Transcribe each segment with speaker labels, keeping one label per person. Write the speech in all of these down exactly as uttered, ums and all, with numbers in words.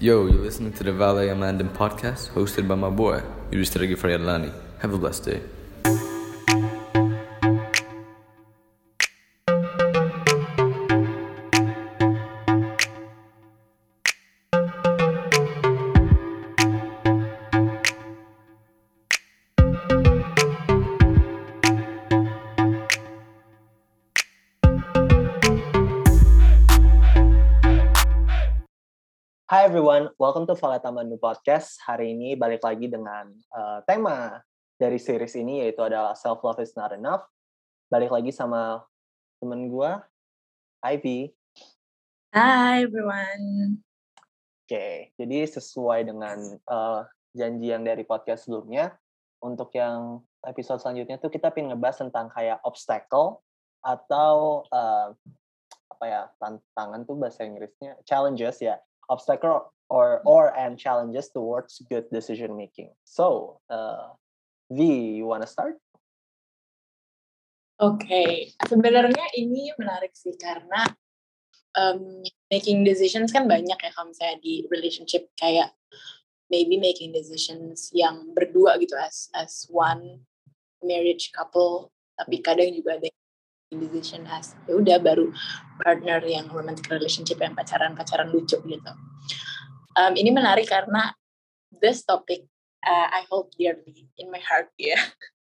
Speaker 1: Yo, you're listening to the Valet Amandin podcast hosted by my boy, Yudhishthira Farayalani. Have a blessed day.
Speaker 2: Hi everyone, welcome to Valet Amandin Podcast. Hari ini balik lagi dengan uh, tema dari series ini, yaitu adalah Self Love is Not Enough. Balik lagi sama temen gue, Ivy.
Speaker 3: Hi everyone.
Speaker 2: Oke, okay, jadi sesuai dengan uh, janji yang dari podcast sebelumnya, untuk yang episode selanjutnya tuh kita pengen ngebahas tentang kayak obstacle atau uh, apa ya, tantangan tuh bahasa Inggrisnya, challenges ya. Obstacle or or and challenges towards good decision making. So, uh, V, you wanna start?
Speaker 3: Oke, okay. Sebenarnya ini menarik sih karena um, making decisions kan banyak ya kalau misalnya di relationship, kayak maybe making decisions yang berdua gitu as as one marriage couple, tapi kadang juga ada decision as ya udah baru partner yang romantic relationship yang pacaran-pacaran lucu gitu. Um, ini menarik karena this topic uh, I hold dearly in my heart ya. Yeah.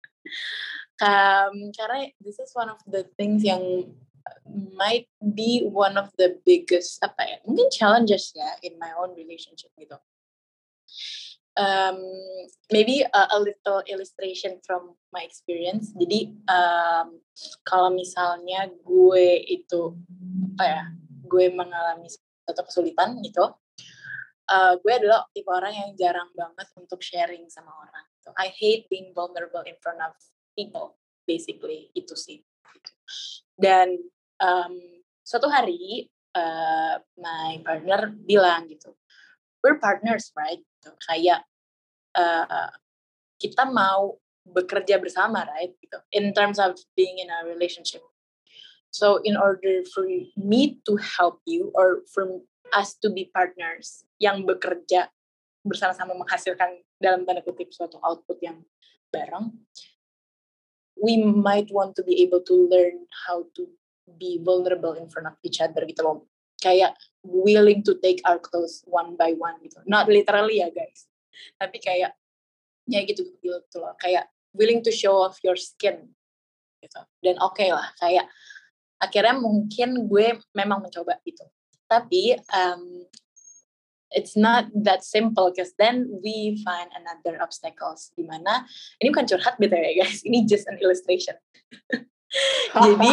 Speaker 3: um, karena this is one of the things yang might be one of the biggest apa ya mungkin challenges ya in my own relationship gitu. Um, maybe a, a little illustration from my experience. Jadi um, kalau misalnya gue itu apa ya, gue mengalami suatu kesulitan gitu, uh, gue adalah tipe orang yang jarang banget untuk sharing sama orang. So, I hate being vulnerable in front of people, basically itu sih. Dan um, suatu hari uh, my partner bilang gitu, we're partners, right? Gitu. Kayak uh, kita mau bekerja bersama, right? Gitu. In terms of being in a relationship. So in order for me to help you or for us to be partners yang bekerja bersama-sama menghasilkan dalam tanda kutip suatu output yang bareng, we might want to be able to learn how to be vulnerable in front of each other gitu loh. Kayak willing to take our clothes one by one gitu. Not literally ya guys. Tapi kayak ya gitu gitu loh. Kayak willing to show off your skin gitu. Dan oke okay lah. Kayak akhirnya mungkin gue memang mencoba gitu. Tapi um, it's not that simple because then we find another obstacles. Dimana ini bukan curhat gitu ya guys. Ini just an illustration. Jadi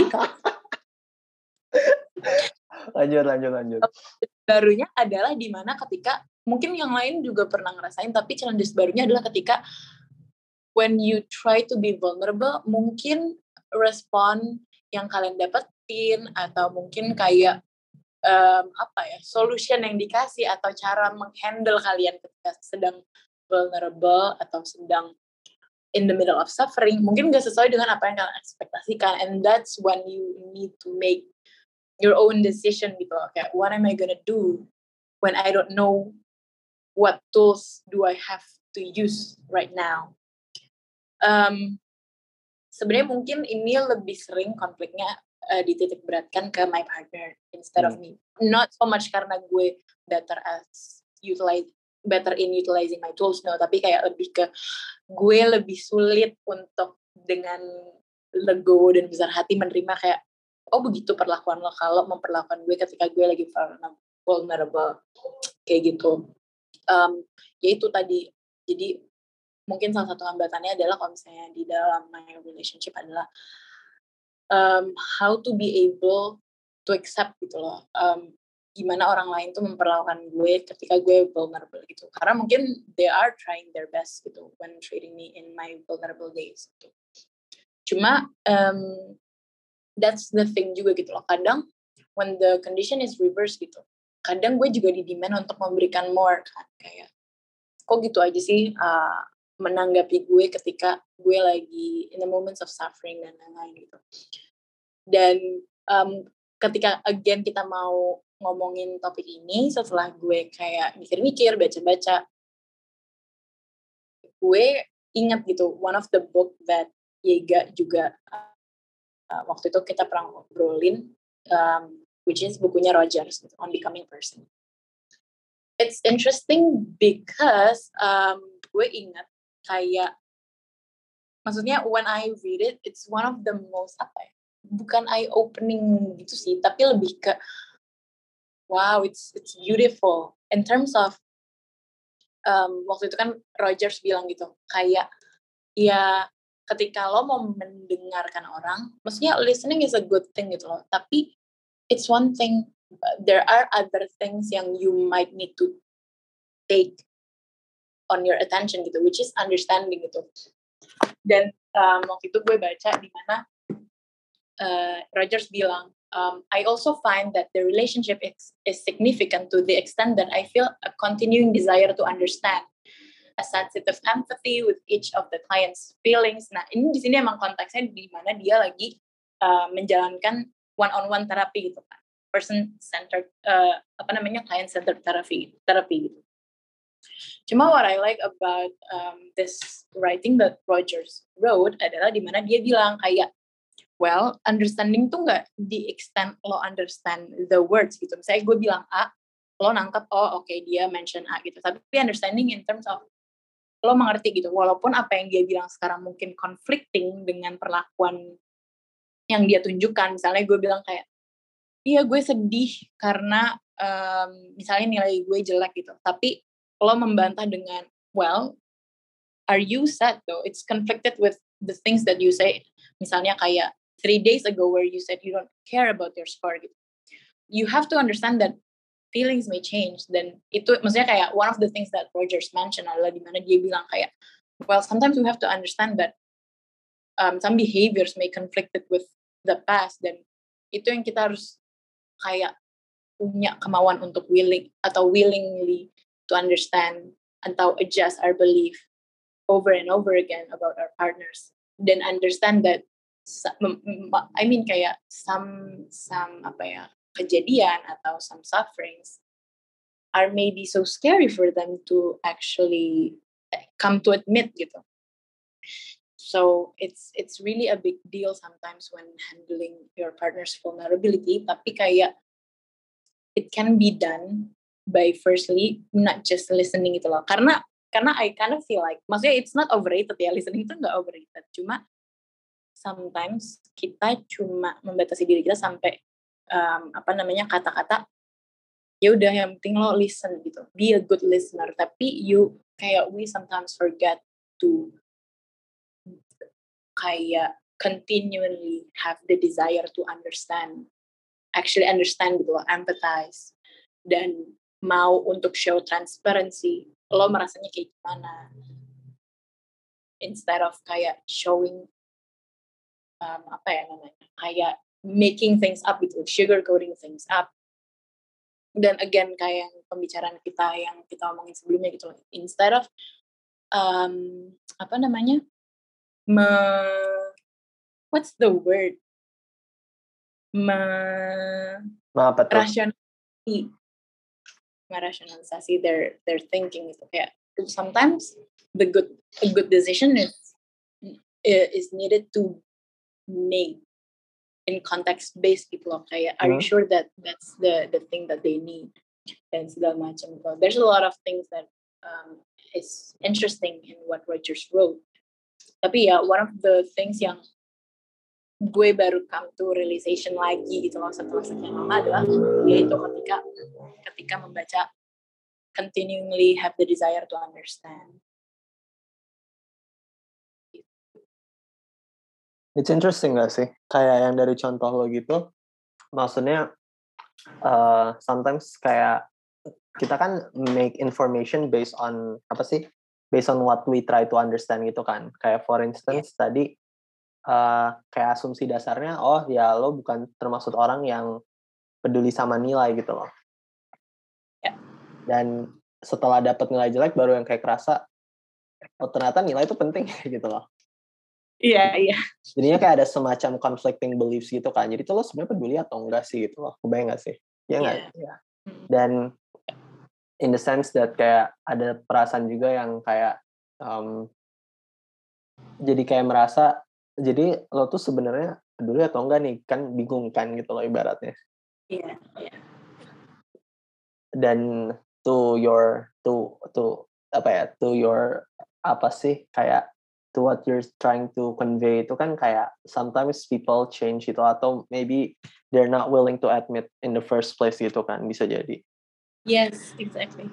Speaker 2: lanjut lanjut lanjut.
Speaker 3: Barunya adalah di mana ketika mungkin yang lain juga pernah ngerasain, tapi challenges barunya adalah ketika when you try to be vulnerable, mungkin respon yang kalian dapetin atau mungkin kayak um, apa ya solution yang dikasih atau cara menghandle kalian ketika sedang vulnerable atau sedang in the middle of suffering mungkin gak sesuai dengan apa yang kalian ekspektasikan, and that's when you need to make your own decision gitu. Kayak what am I gonna do when I don't know what tools do I have to use right now. Um, sebenarnya mungkin ini lebih sering konfliknya uh, dititik beratkan ke my partner instead hmm. of me. Not so much karena gue better as utilize better in utilizing my tools, no, tapi kayak lebih ke gue lebih sulit untuk dengan legowo dan besar hati menerima kayak oh begitu perlakuan lo kalau memperlakukan gue ketika gue lagi vulnerable kayak gitu. Um, ya itu tadi. Jadi mungkin salah satu hambatannya adalah kalau misalnya di dalam my relationship adalah um, how to be able to accept gitu loh. Um, gimana orang lain tuh memperlakukan gue ketika gue vulnerable gitu. Karena mungkin they are trying their best gitu when treating me in my vulnerable days gitu. Cuma um, that's the thing juga gitu loh. Kadang when the condition is reverse gitu, kadang gue juga di-demand untuk memberikan more kan. Kayak kok gitu aja sih uh, menanggapi gue ketika gue lagi in the moments of suffering dan lain-lain gitu. Dan um, ketika again kita mau ngomongin topik ini setelah gue kayak mikir-mikir, baca-baca. Gue ingat gitu, one of the book that Yega juga uh, waktu itu kita pernah ngobrolin, um, which is bukunya Rogers gitu, On Becoming Person. It's interesting because um, gue ingat kayak, maksudnya when I read it, it's one of the most apa ya? Bukan eye-opening gitu sih, tapi lebih ke wow, it's it's beautiful in terms of um, waktu itu kan Rogers bilang gitu, kayak ya ketika lo mau mendengarkan orang, maksudnya listening is a good thing gitu loh, tapi it's one thing, there are other things yang you might need to take on your attention gitu, which is understanding gitu. Dan um, waktu itu gue baca di mana uh, Rogers bilang, um, I also find that the relationship is, is significant to the extent that I feel a continuing desire to understand, a sensitive empathy with each of the client's feelings. Nah, ini di sini emang konteksnya di mana dia lagi uh, menjalankan one-on-one terapi gitu kan, person-centered, uh, apa namanya, client-centered therapy, therapy gitu. Cuma what I like about um, this writing that Rogers wrote adalah di mana dia bilang kayak, well, understanding tuh nggak di extent lo understand the words gitu. Misalnya gue bilang A, lo nangkep, oh oke okay, dia mention A gitu. Tapi understanding in terms of lo mengerti gitu. Walaupun apa yang dia bilang sekarang mungkin conflicting dengan perlakuan yang dia tunjukkan. Misalnya gue bilang kayak, iya gue sedih karena um, misalnya nilai gue jelek gitu. Tapi lo membantah dengan, well, are you sad though? It's conflicted with the things that you say. Misalnya kayak three days ago where you said you don't care about your score gitu. You have to understand that feelings may change. Dan itu maksudnya kayak one of the things that Rogers mentioned adalah di mana dia bilang kayak, well, sometimes we have to understand that um, some behaviors may conflicted with the past, dan itu yang kita harus kayak punya kemauan untuk willing atau willingly to understand atau adjust our belief over and over again about our partners, dan understand that I mean kayak some some apa ya kejadian atau some sufferings are maybe so scary for them to actually come to admit gitu. So it's it's really a big deal sometimes when handling your partner's vulnerability, tapi kayak it can be done by firstly not just listening gitu loh. Karena karena I kind of feel like, maksudnya it's not overrated ya, listening itu nggak overrated. Cuma sometimes kita cuma membatasi diri kita sampai um, apa namanya kata-kata, ya udah yang penting lo listen gitu, be a good listener. Tapi you kayak we sometimes forget to kayak continually have the desire to understand, actually understand gitu loh, empathize, dan mau untuk show transparency, lo merasanya kayak gimana, instead of kayak showing um, apa ya namanya, kayak making things up gitu, sugarcoating things up. Dan again kayak yang pembicaraan kita yang kita omongin sebelumnya gitu, instead of um, apa namanya, me, what's the word, me,
Speaker 2: apa tuh?
Speaker 3: rationalisasi, merasionalisasi their their thinking gitu. Kayak sometimes the good a good decision is is needed to make in context based gitu loh. Kayak are you sure that that's the the thing that they need, dan segala macam gitu. There's a lot of things that um, is interesting in what Rogers wrote. Tapi ya one of the things yang gue baru come to realization lagi gitu loh setelah sekian lama adalah yaitu ketika ketika membaca continually have the desire to understand.
Speaker 2: It's interesting gak sih? Kayak yang dari contoh lo gitu, maksudnya uh, sometimes kayak kita kan make information based on apa sih? Based on what we try to understand gitu kan. Kayak for instance yeah. tadi uh, kayak asumsi dasarnya, oh ya lo bukan termasuk orang yang peduli sama nilai gitu loh.
Speaker 3: Yeah.
Speaker 2: Dan setelah dapat nilai jelek baru yang kayak kerasa, oh ternyata nilai itu penting gitu loh.
Speaker 3: Iya, yeah, iya. Yeah.
Speaker 2: Jadinya kayak ada semacam conflicting beliefs gitu kan. Jadi tuh lo sebenarnya peduli atau enggak sih gitu loh. Kebayang gak sih? ya nggak
Speaker 3: Yeah.
Speaker 2: ya.
Speaker 3: Hmm.
Speaker 2: Dan in the sense that kayak ada perasaan juga yang kayak um, jadi kayak merasa jadi lo tuh sebenarnya peduli atau enggak nih, kan bingung kan gitu loh ibaratnya.
Speaker 3: Iya, iya.
Speaker 2: Dan to your to to apa ya to your apa sih kayak to what you're trying to convey itu kan kayak sometimes people change itu, atau maybe they're not willing to admit in the first place gitu kan, bisa jadi.
Speaker 3: Yes, exactly.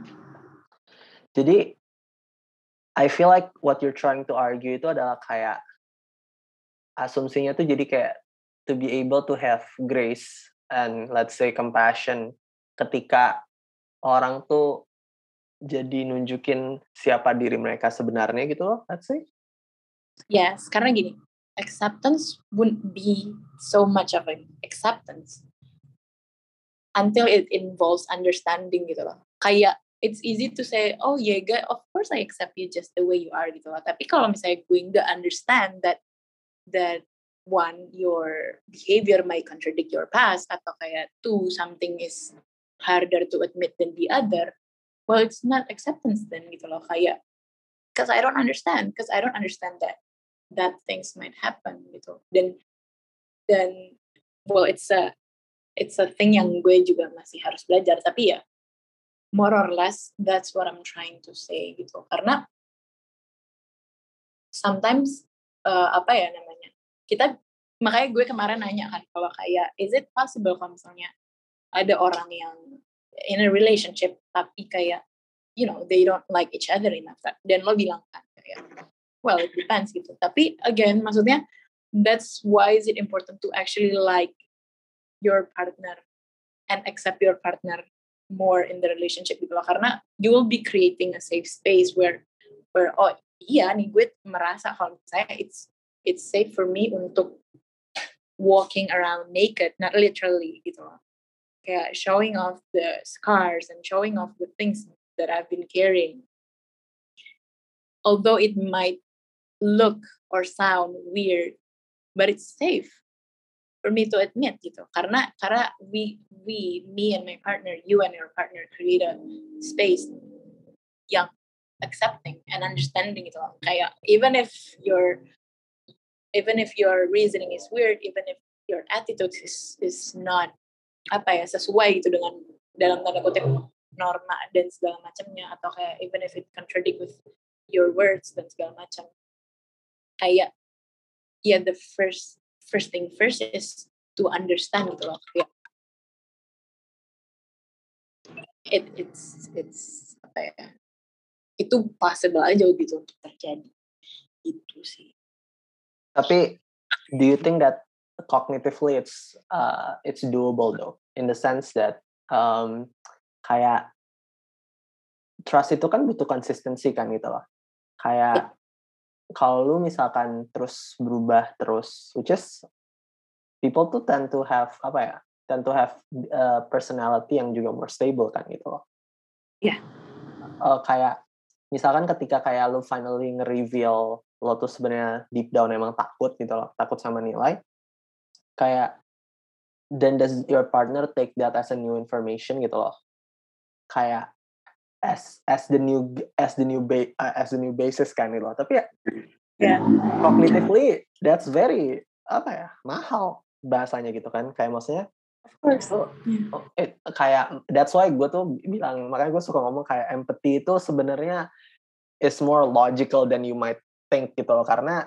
Speaker 2: Jadi I feel like what you're trying to argue itu adalah kayak asumsinya tuh jadi kayak to be able to have grace and let's say compassion ketika orang tuh jadi nunjukin siapa diri mereka sebenarnya gitu loh, let's say.
Speaker 3: Yes, karena gini, acceptance wouldn't be so much of an acceptance until it involves understanding gitu loh. Kayak it's easy to say, oh yeah, God, of course I accept you just the way you are gitu loh. Tapi kalau misalnya gue nggak understand that that one, your behavior might contradict your past, atau kayak two, something is harder to admit than the other, well, it's not acceptance then gitu loh. Kayak, because I don't understand, because I don't understand that that things might happen gitu. Dan dan well, it's a it's a thing yang gue juga masih harus belajar. Tapi ya, more or less that's what I'm trying to say gitu. Karena sometimes uh, apa ya namanya, kita makanya gue kemarin nanya kan bahwa kayak is it possible kalau misalnya ada orang yang in a relationship tapi kayak you know they don't like each other enough, dan lo bilang kan kayak well it depends gitu. Tapi again maksudnya that's why is it important to actually like your partner and accept your partner more in the relationship gitu loh, karena you will be creating a safe space where where oh iya nih gue merasa kalau saya it's it's safe for me untuk walking around naked, not literally gitu loh, kayak showing off the scars and showing off the things that I've been carrying, although it might look or sound weird, but it's safe for me to admit gitu, karena karena we we me and my partner, you and your partner create a space yang accepting and understanding gitu loh. Kayak even if your even if your reasoning is weird, even if your attitude is is not apa ya sesuai gitu dengan dalam tanda kutip norma dan segala macamnya, atau kayak even if it contradict with your words dan segala macam, kayak ya yeah, the first first thing first is to understand gitu loh. Yeah. It it's it's apa ya? Itu possible aja gitu untuk terjadi. Itu sih.
Speaker 2: Tapi do you think that cognitively it's uh, it's doable though, in the sense that um, kayak trust itu kan butuh konsistensi kan gitu loh. Kayak kalau lu misalkan terus berubah terus, which is people tuh tend to have apa ya, tend to have uh, personality yang juga more stable kan gitu loh.
Speaker 3: Iya. Yeah.
Speaker 2: Uh, kayak misalkan ketika kayak lu finally nge-reveal lo tuh sebenarnya deep down emang takut gitu loh, takut sama nilai. Kayak then does your partner take that as a new information gitu loh. Kayak as as the new as the new ba- uh, as the new basis kan gitu loh. Tapi ya
Speaker 3: yeah.
Speaker 2: cognitively that's very apa ya, mahal bahasanya gitu kan. Kayak maksudnya
Speaker 3: of course.
Speaker 2: Oh, it, kayak that's why gue tuh bilang, makanya gue suka ngomong kayak empathy itu sebenarnya is more logical than you might think gitu loh, karena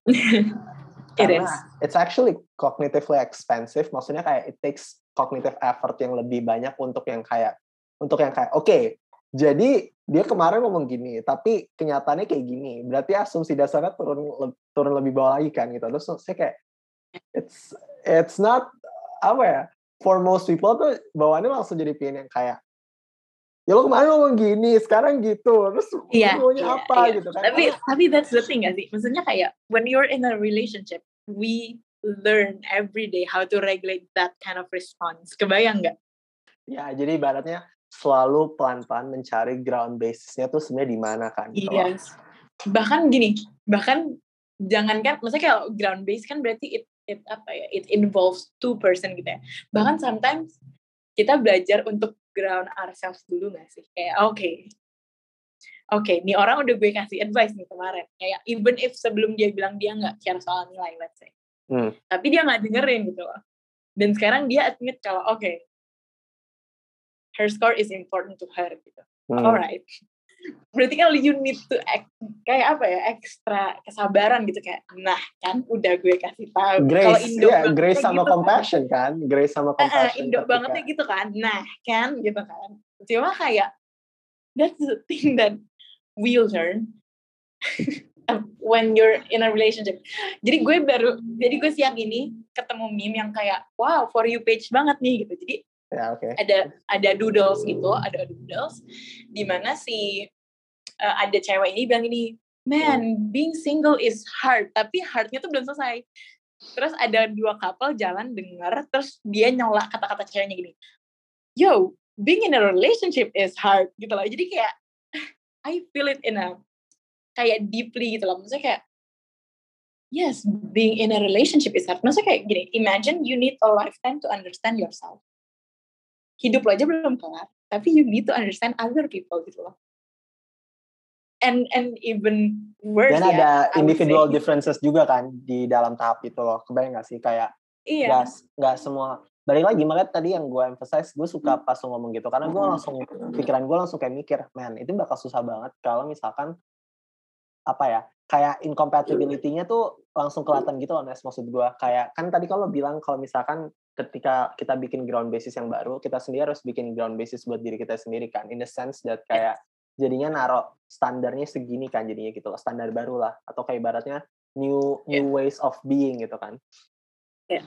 Speaker 3: It
Speaker 2: karena
Speaker 3: is.
Speaker 2: it's actually cognitively expensive. Maksudnya kayak it takes cognitive effort yang lebih banyak untuk yang kayak untuk yang kayak oke, okay, jadi dia kemarin ngomong gini tapi kenyataannya kayak gini, berarti asumsi dasarnya turun turun lebih bawah lagi kan gitu. Terus saya kayak it's it's not apa ya, for most people tuh bawaannya langsung jadi pilihan yang kayak ya lo kemarin ngomong gini, sekarang gitu, terus
Speaker 3: yeah,
Speaker 2: maunya
Speaker 3: yeah,
Speaker 2: apa
Speaker 3: yeah.
Speaker 2: gitu kan.
Speaker 3: Tapi tapi that's the thing gak sih, maksudnya kayak when you're in a relationship we learn every day how to regulate that kind of response. Kebayang nggak? Ya
Speaker 2: jadi ibaratnya selalu pelan-pelan mencari ground basis-nya tuh sebenarnya di mana kan gitu.
Speaker 3: Yes. Bahkan gini, bahkan jangankan maksudnya kayak ground base kan berarti it it apa ya, it involves two person gitu ya. Bahkan sometimes kita belajar untuk ground ourselves dulu gak sih? Kayak oke, okay. oke, okay, nih orang udah gue kasih advice nih kemarin. Kayak even if sebelum dia bilang dia gak care soal nilai, let's say.
Speaker 2: Hmm.
Speaker 3: Tapi dia gak dengerin gitu loh. Dan sekarang dia admit kalau oke, okay, her score is important to her gitu. Hmm. Alright. Berarti kan you need to act, kayak apa ya, ekstra kesabaran gitu, kayak nah kan udah gue kasih tahu.
Speaker 2: Grace, Indo ya, grace sama gitu compassion kan, kan? Grace sama compassion.
Speaker 3: Uh, Indo ketika... bangetnya gitu kan, nah kan gitu kan. Cuma kayak that's the thing that we learn when you're in a relationship. Jadi gue baru, jadi gue siang ini ketemu meme yang kayak wow for you page banget nih gitu. Jadi
Speaker 2: ya, okay.
Speaker 3: ada ada doodles gitu, ada doodles di mana si uh, ada cewek ini bilang ini, man, being single is hard, tapi hardnya tuh belum selesai. Terus ada dua couple jalan dengar, terus dia nyolak kata-kata ceweknya gini, yo, being in a relationship is hard gitu loh. Jadi kayak I feel it in a kayak deeply gitu loh. Maksudnya kayak yes, being in a relationship is hard. Maksudnya kayak gini, imagine you need a lifetime to understand yourself. Hidup lo aja belum kelar, tapi you need to understand other people gitu loh. And and even worse
Speaker 2: dan
Speaker 3: ya.
Speaker 2: Dan ada individual differences juga kan di dalam tahap itu loh. Kebayang gak sih kayak
Speaker 3: iya.
Speaker 2: gak, gak semua. Balik lagi, makanya tadi yang gue emphasize, gue suka pas lo ngomong gitu. Karena gue langsung, pikiran gue langsung kayak mikir, man itu bakal susah banget kalau misalkan, apa ya, kayak incompatibility-nya tuh langsung kelihatan gitu loh, Nes. Maksud gue, kayak, kan tadi kalau bilang kalau misalkan ketika kita bikin ground basis yang baru, kita sendiri harus bikin ground basis buat diri kita sendiri kan, in the sense that kayak jadinya naruh standarnya segini kan jadinya gitu loh, standar baru lah, atau kayak ibaratnya new new yeah. ways of being gitu kan,
Speaker 3: yeah.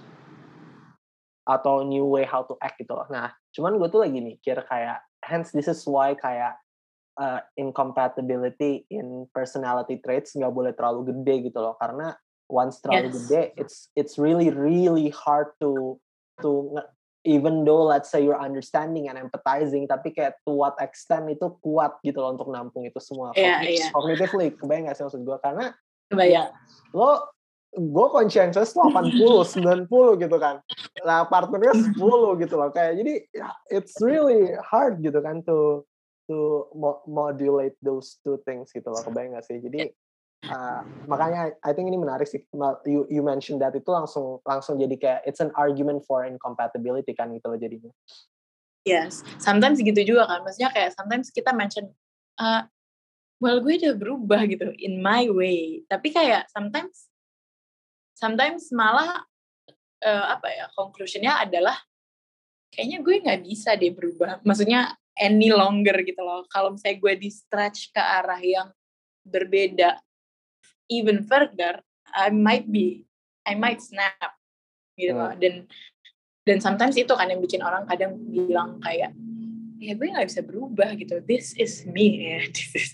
Speaker 2: atau new way how to act gitu loh. Nah, cuman gue tuh lagi mikir kayak, hence this is why kayak uh, incompatibility in personality traits nggak boleh terlalu gede gitu loh, karena once terlalu yes. gede, it's it's really really hard to to even though let's say you're understanding and empathizing, tapi kayak to what extent itu kuat gitu loh untuk nampung itu semua.
Speaker 3: Yeah, yeah.
Speaker 2: Cognitively, kebayang gak sih maksud gue? Karena
Speaker 3: kebayang.
Speaker 2: Lo, gue conscientious delapan puluh, sembilan puluh gitu kan. Nah, partnernya sepuluh gitu loh. Kayak jadi, it's really hard gitu kan to to modulate those two things gitu loh. Kebayang gak sih? Jadi, Uh, makanya I think ini menarik sih, you, you mentioned that itu langsung langsung jadi kayak it's an argument for incompatibility kan gitu loh jadinya.
Speaker 3: Yes, sometimes gitu juga kan, maksudnya kayak sometimes kita mention uh, well gue udah berubah gitu in my way, tapi kayak sometimes sometimes malah uh, apa ya, conclusionnya adalah kayaknya gue nggak bisa deh berubah, maksudnya any longer gitu loh. Kalau misalnya gue di stretch ke arah yang berbeda even further, I might be, I might snap, gitu loh. Hmm. Dan dan sometimes itu kan yang bikin orang kadang bilang kayak, ya gue nggak bisa berubah gitu. This is me ya.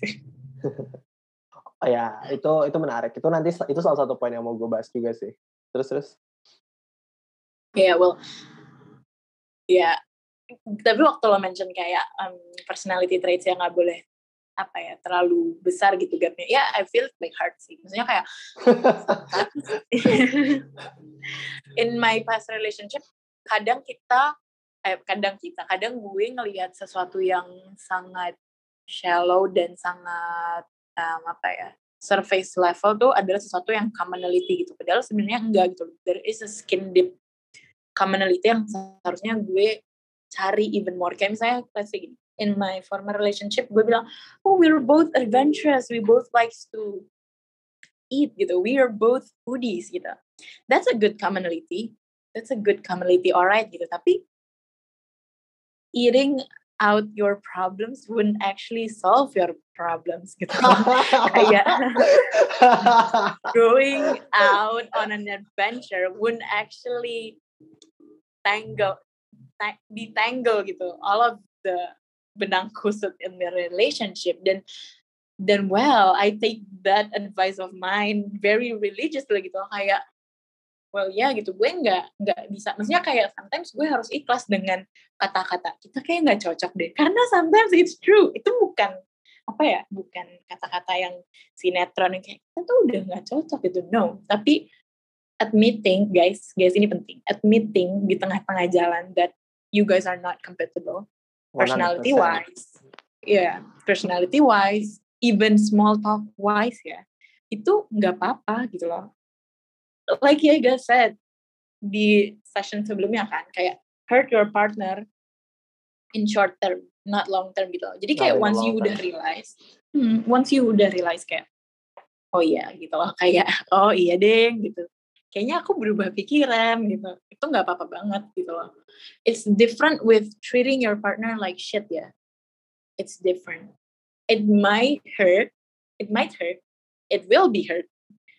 Speaker 2: Oh ya, itu itu menarik. Itu nanti itu salah satu poin yang mau gue bahas juga sih. Terus terus.
Speaker 3: Ya yeah, well, ya. Yeah. Tapi waktu lo mention kayak um, personality traits yang nggak boleh apa ya, terlalu besar gitu gapnya. Ya, yeah, I feel like hard sih. Maksudnya kayak in my past relationship, kadang kita, eh, kadang kita, kadang gue ngelihat sesuatu yang sangat shallow dan sangat um, apa ya, surface level tuh adalah sesuatu yang commonality gitu. Padahal sebenarnya enggak gitu. There is a skin deep commonality yang seharusnya gue cari even more. Kayak misalnya, let's say gini, in my former relationship, gue bilang, oh, we're both adventurous, we both likes to eat, gitu. We are both foodies, gitu. That's a good commonality. That's a good commonality, alright, gitu. Tapi, eating out your problems wouldn't actually solve your problems, gitu. Kayak, going out on an adventure wouldn't actually tangle, tang- detangle, gitu, all of the benang kusut in the relationship. Dan then well, I take that advice of mine very religiously gitu, kayak well ya yeah, gitu, gue nggak nggak bisa, maksudnya kayak sometimes gue harus ikhlas dengan kata-kata kita kayak nggak cocok deh, karena sometimes it's true, itu bukan apa ya, bukan kata-kata yang sinetron yang kayak kita tuh udah nggak cocok gitu, no, tapi admitting guys guys ini penting, admitting di tengah-tengah jalan that you guys are not compatible
Speaker 2: one hundred
Speaker 3: personality
Speaker 2: percent.
Speaker 3: wise, yeah, personality wise, even small talk wise ya, itu nggak apa-apa gitu loh. Like you guys said di session sebelumnya kan, kayak hurt your partner in short term, not long term gitu. Jadi kayak
Speaker 2: Not in the
Speaker 3: once you
Speaker 2: long
Speaker 3: udah
Speaker 2: term.
Speaker 3: realize, hmm, once you udah realize kayak, oh iya gitu loh, kayak oh iya deh gitu. Kayaknya aku berubah pikiran gitu. Itu nggak apa-apa banget gitu loh. It's different with treating your partner like shit ya. It's different. It might hurt. It might hurt. It will be hurt.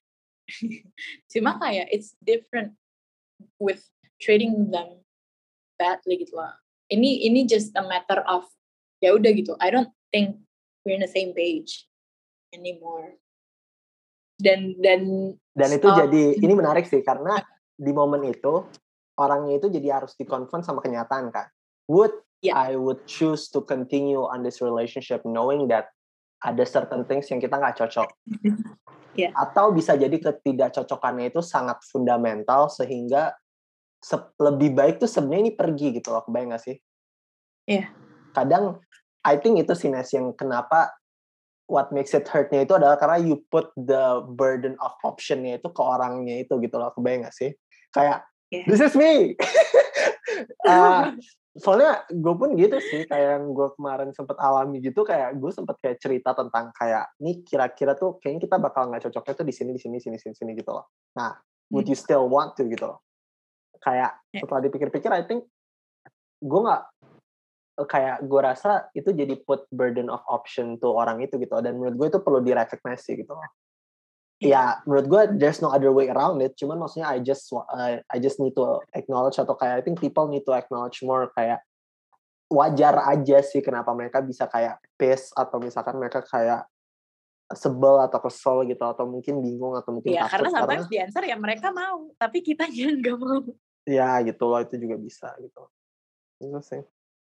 Speaker 3: Cuma kayak it's different with treating them badly gitu loh. Ini ini just a matter of ya udah gitu. I don't think we're in the same page anymore. Dan dan
Speaker 2: Dan itu
Speaker 3: stop.
Speaker 2: jadi, ini menarik sih, karena di momen itu, orangnya itu jadi harus dikonfront sama kenyataan kan. Would
Speaker 3: Yeah.
Speaker 2: I would choose to continue on this relationship knowing that ada certain things yang kita nggak cocok.
Speaker 3: Yeah.
Speaker 2: Atau bisa jadi ketidakcocokannya itu sangat fundamental, sehingga se- lebih baik tuh sebenarnya ini pergi gitu loh, kebayang nggak sih?
Speaker 3: Iya.
Speaker 2: Kadang, I think itu sih Nes, yang kenapa what makes it hurt-nya itu adalah karena you put the burden of option-nya itu ke orangnya itu gitu loh, kebayang gak sih? Kayak,
Speaker 3: Yeah.
Speaker 2: this is me! uh, soalnya gue pun gitu sih, kayak yang gue kemarin sempet alami gitu, kayak gue sempet kayak cerita tentang kayak, nih kira-kira tuh kayaknya kita bakal gak cocoknya tuh di sini, di sini, sini, sini, sini gitu loh. Nah, would you still want to gitu loh? Kayak,
Speaker 3: Yeah.
Speaker 2: setelah dipikir-pikir, I think, gue gak, kayak gue rasa itu jadi put burden of option tuh orang itu gitu, dan menurut gue itu perlu direcognize sih gitu loh. Ya menurut gue there's no other way around it, cuman maksudnya I just uh, I just need to acknowledge, atau kayak I think people need to acknowledge more, kayak wajar aja sih kenapa mereka bisa kayak pissed, atau misalkan mereka kayak sebel atau kesel gitu, atau mungkin bingung atau mungkin
Speaker 3: Ya,
Speaker 2: takut,
Speaker 3: karena sometimes
Speaker 2: karena
Speaker 3: the answer ya mereka mau, tapi kitanya nggak mau.
Speaker 2: ya gitu loh, itu juga bisa gitu. Itu sih.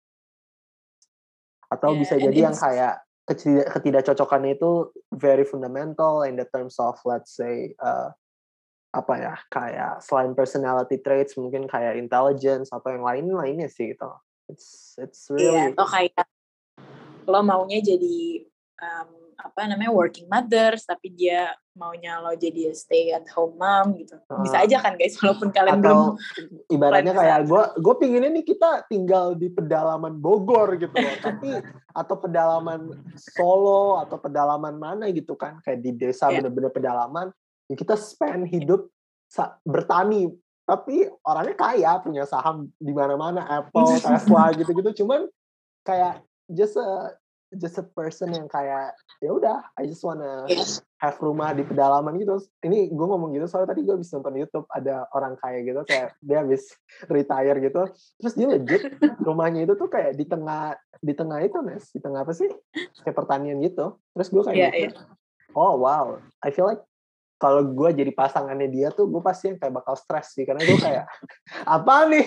Speaker 2: Atau
Speaker 3: Yeah,
Speaker 2: bisa
Speaker 3: and
Speaker 2: jadi yang
Speaker 3: it's-
Speaker 2: kayak ketidak, ketidakcocokannya itu very fundamental in the terms of let's say uh, apa ya, kayak selain personality traits mungkin kayak intelligence atau yang lain lainnya sih gitu. It's it's
Speaker 3: Iya,
Speaker 2: really
Speaker 3: atau kayak lo maunya jadi um, apa namanya working mothers, tapi dia maunya lo jadi stay at home mom gitu. Bisa
Speaker 2: uh,
Speaker 3: aja kan guys, walaupun kalian belum.
Speaker 2: atau ibaratnya
Speaker 3: plan
Speaker 2: kayak
Speaker 3: besar.
Speaker 2: gue gue pinginnya nih kita tinggal di pedalaman Bogor gitu loh, tapi atau pedalaman Solo atau pedalaman mana gitu kan, kayak di desa
Speaker 3: Yeah.
Speaker 2: bener-bener pedalaman, ya kita spend hidup sa- bertani, tapi orangnya kaya, punya saham di mana-mana, Apple, Tesla gitu-gitu, cuman kayak just a just a person yang kayak ya udah I just wanna
Speaker 3: Yes.
Speaker 2: have rumah di pedalaman gitu. Ini gue ngomong gitu soalnya tadi gue habis nonton YouTube, ada orang kaya gitu, kayak dia habis retire gitu, terus dia legit rumahnya itu tuh kayak di tengah di tengah itu Nes, di tengah apa sih, kayak pertanian gitu. Terus gue kayak
Speaker 3: Yeah,
Speaker 2: mikir,
Speaker 3: yeah.
Speaker 2: oh wow, I feel like kalau gue jadi pasangannya dia tuh gue pasti yang kayak bakal stres sih, karena gue kayak apa nih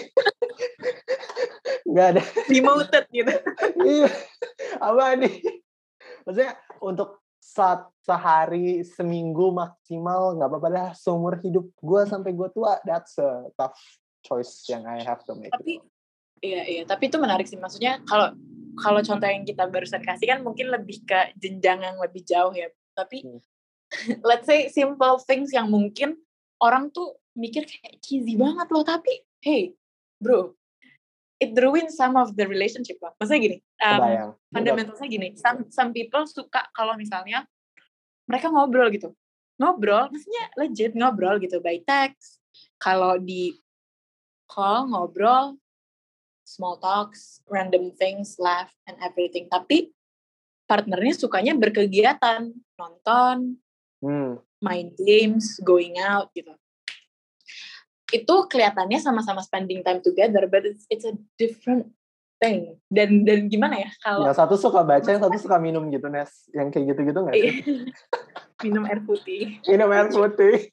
Speaker 2: nggak ada
Speaker 3: Demoted gitu.
Speaker 2: iya apa nih, maksudnya untuk saat sehari seminggu maksimal nggak apa-apa dah, seumur hidup gue sampai gue tua, that's a tough choice yang I have to make.
Speaker 3: Tapi iya iya, tapi itu menarik sih, maksudnya kalau kalau contoh yang kita barusan kasih kan mungkin lebih ke jenjang yang lebih jauh ya, tapi
Speaker 2: Hmm.
Speaker 3: let's say simple things yang mungkin orang tuh mikir kayak cheesy banget loh, tapi hey bro, it ruins some of the relationship loh. Maksudnya gini, um,
Speaker 2: Kebayang.
Speaker 3: fundamentalnya gini, some some people suka kalau misalnya mereka ngobrol gitu, ngobrol, maksudnya legit ngobrol gitu by text, kalau di call ngobrol, small talks, random things, laugh and everything, tapi partnernya sukanya berkegiatan, nonton,
Speaker 2: Hmm.
Speaker 3: main games, going out gitu. Itu kelihatannya sama-sama spending time together, but it's, it's a different thing. Dan dan gimana ya kalau
Speaker 2: Yang satu suka baca, yang satu suka minum gitu, Nes. Yang kayak gitu-gitu nggak sih?
Speaker 3: minum air putih.
Speaker 2: Minum air putih.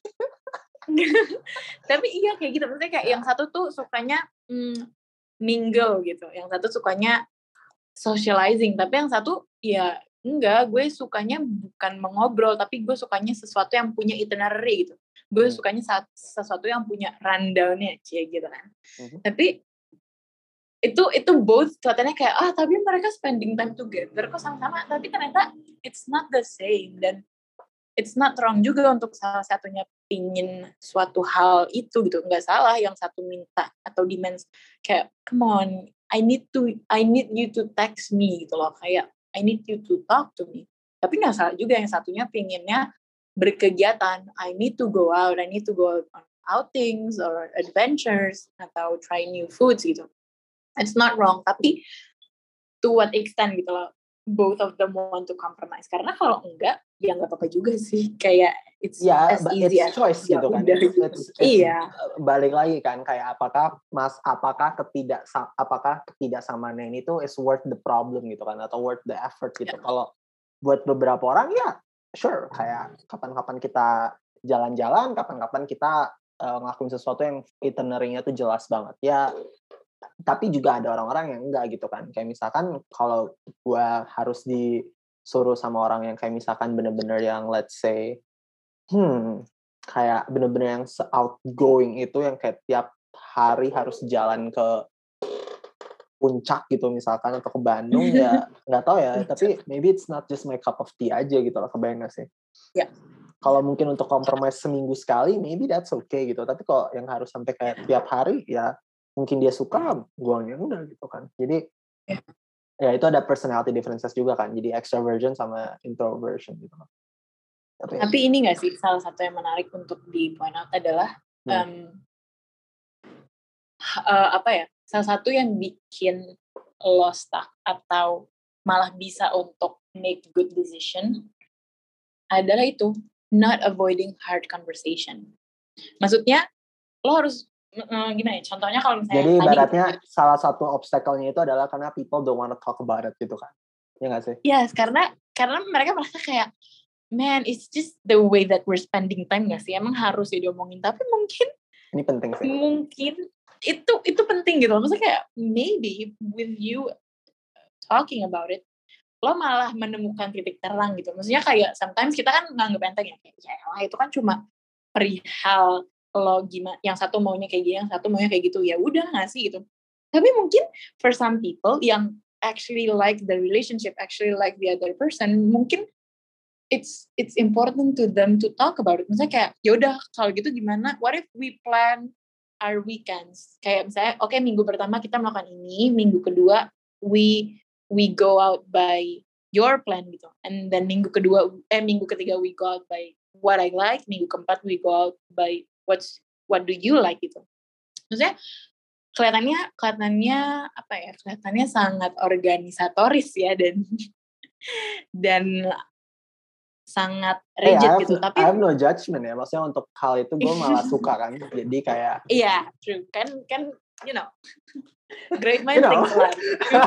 Speaker 3: Tapi iya kayak gitu. Maksudnya kayak yang satu tuh sukanya mm, mingle gitu, yang satu sukanya socializing, tapi yang satu ya enggak, gue sukanya bukan mengobrol, tapi gue sukanya sesuatu yang punya itinerary gitu. Gue
Speaker 2: Hmm.
Speaker 3: sukanya saat, sesuatu yang punya rundown-nya, cie gitu kan.
Speaker 2: Hmm.
Speaker 3: Tapi itu itu both kelihatannya kayak ah tapi mereka spending time together kok sama-sama, tapi ternyata it's not the same. Dan it's not wrong juga untuk salah satunya pingin suatu hal itu gitu, nggak salah yang satu minta atau demands kayak come on I need to I need you to text me gitu loh, kayak I need you to talk to me. Tapi nggak salah juga yang satunya pinginnya berkegiatan, I need to go out, I need to go on outings or adventures atau try new foods gitu. It's not wrong, tapi to what extent gitu loh, both of them want to compromise. Karena kalau enggak, ya nggak apa-apa juga sih. Kayak it's
Speaker 2: ya,
Speaker 3: as easy
Speaker 2: it's
Speaker 3: as
Speaker 2: choice gitu kan.
Speaker 3: It's,
Speaker 2: it's, it's,
Speaker 3: iya.
Speaker 2: Balik lagi kan, kayak apakah mas, apakah ketidak, apakah ketidaksamaan ini tuh is worth the problem gitu kan, atau worth the effort gitu. Yeah. Kalau buat beberapa orang ya, sure. Kayak kapan-kapan kita jalan-jalan, kapan-kapan kita uh, ngelakuin sesuatu yang itinerary-nya tuh jelas banget. Ya. Tapi juga ada orang-orang yang enggak gitu kan. Kayak misalkan kalau gue harus disuruh sama orang yang kayak misalkan bener-bener yang let's say, hmm, kayak bener-bener yang outgoing itu yang kayak tiap hari harus jalan ke puncak gitu misalkan atau ke Bandung ya nggak tahu ya. Tapi maybe it's not just my cup of tea aja gitu loh, kebayang gak sih?
Speaker 3: Ya. Yeah.
Speaker 2: Kalau mungkin untuk compromise seminggu sekali, maybe that's okay gitu. Tapi kalau yang harus sampai kayak tiap hari ya mungkin dia suka, guanya enggak gitu kan. Jadi yeah. ya itu ada personality differences juga kan. Jadi extroversion sama introversion gitu.
Speaker 3: Tapi, Tapi ini nggak sih salah satu yang menarik untuk di point out adalah hmm. um, uh, apa ya? Salah satu yang bikin lo stuck atau malah bisa untuk make good decision adalah itu not avoiding hard conversation. Maksudnya lo harus gimana ya, contohnya kalau misalnya
Speaker 2: jadi
Speaker 3: tadi,
Speaker 2: ibaratnya salah satu obstacle-nya itu adalah karena people don't want to talk about it gitu kan, ya nggak sih?
Speaker 3: Yes, karena karena mereka merasa kayak man it's just the way that we're spending time nggak sih, emang harus ya diomongin, tapi mungkin
Speaker 2: ini penting sih,
Speaker 3: mungkin itu itu penting gitu, maksudnya kayak maybe with you talking about it lo malah menemukan titik terang gitu. Maksudnya kayak sometimes kita kan nganggep enteng ya, kayak ya itu kan cuma perihal lo gimana, yang satu maunya kayak gini, yang satu maunya kayak gitu, ya udah nggak sih gitu. Tapi mungkin for some people yang actually like the relationship, actually like the other person, mungkin it's it's important to them to talk about it. Misalnya kayak ya udah kalau gitu gimana? What if we plan our weekends? Kayak misalnya oke okay, minggu pertama kita melakukan ini, minggu kedua we we go out by your plan gitu, and then minggu kedua eh minggu ketiga we go out by what I like, minggu keempat we go out by what's what do you like gitu. Maksudnya kelihatannya kelihatannya apa ya? Kelihatannya sangat organisatoris ya dan dan sangat rigid
Speaker 2: hey,
Speaker 3: gitu.
Speaker 2: No,
Speaker 3: tapi
Speaker 2: I have no judgment ya. Maksudnya untuk hal itu gue malah suka kan. Jadi kayak
Speaker 3: iya, yeah, true. Kan kan you know. Great mind you know. Things like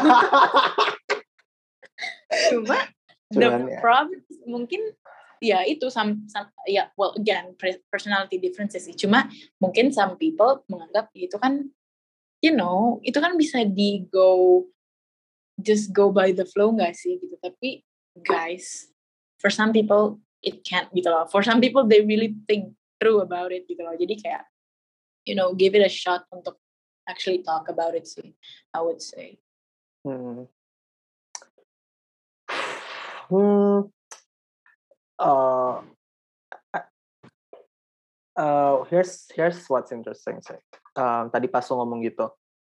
Speaker 3: cuma
Speaker 2: Cuman,
Speaker 3: the
Speaker 2: ya.
Speaker 3: problem mungkin ya itu some, some ya well again personality differences sih, cuma mungkin some people menganggap itu kan you know itu kan bisa di go just go by the flow nggak sih gitu. Tapi guys, for some people it can't gitu loh, for some people they really think through about it gitu loh. Jadi kayak you know give it a shot untuk actually talk about it sih, I would say.
Speaker 2: Hmm. Hmm. Uh, uh, here's here's what's interesting sih. Um, tadi pas lo ngomong gitu,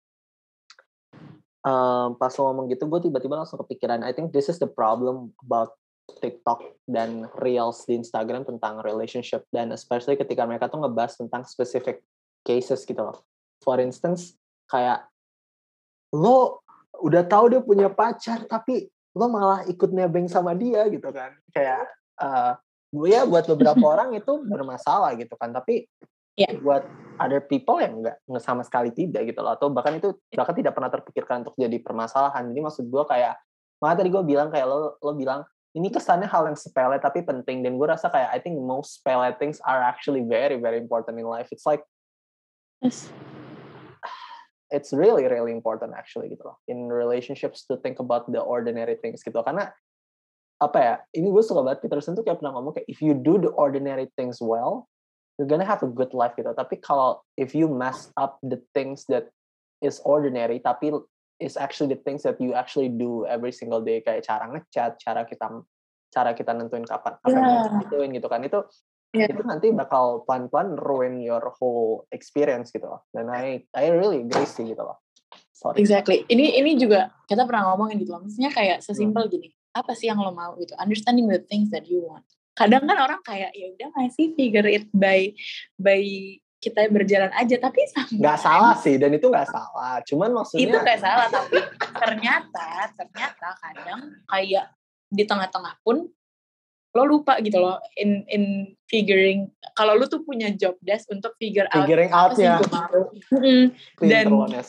Speaker 2: um, pas lo ngomong gitu, gue tiba-tiba langsung kepikiran. I think this is the problem about TikTok dan Reels di Instagram tentang relationship, dan especially ketika mereka tuh ngebahas tentang specific cases gitu loh. For instance, kayak lo udah tahu dia punya pacar tapi lo malah ikut nebeng sama dia gitu kan. Kayak uh, ya buat beberapa orang itu bermasalah gitu kan, tapi yeah. buat other people yang enggak, enggak sama sekali tidak gitu loh, atau bahkan itu bahkan tidak pernah terpikirkan untuk jadi permasalahan. Jadi maksud gue kayak, makanya tadi gue bilang kayak lo lo bilang ini kesannya hal yang sepele tapi penting, dan gue rasa kayak I think most sepele things are actually very very important in life. It's like yes. It's really really important actually gitu loh in relationships to think about the ordinary things gitu. Karena apa ya, ini gue suka banget Peterson tuh kayak pernah ngomong kayak if you do the ordinary things well, you're gonna have a good life gitu. Tapi kalau if you mess up the things that is ordinary tapi is actually the things that you actually do every single day, kayak cara ngechat, cara kita cara kita nentuin kapan kapan
Speaker 3: Yeah.
Speaker 2: mau gituin gitu kan, itu
Speaker 3: Yeah.
Speaker 2: itu nanti bakal pelan-pelan ruin your whole experience gitu loh. Dan I I really agree sih gitu loh. Sorry.
Speaker 3: Exactly. Ini ini juga kita pernah ngomongin gitu loh. Maksudnya kayak sesimpel gini. Apa sih yang lo mau gitu? Understanding the things that you want. Kadang kan orang kayak ya udah nggak sih figure it by by kita berjalan aja, tapi
Speaker 2: nggak salah sih, dan itu nggak salah. Cuman maksudnya
Speaker 3: itu nggak salah, tapi ternyata ternyata kadang kayak di tengah-tengah pun lo lupa gitu loh in in figuring kalau lo tuh punya job desk untuk figure out
Speaker 2: figuring
Speaker 3: apa sih
Speaker 2: out-nya.
Speaker 3: gue mau. Mm-mm. Dan,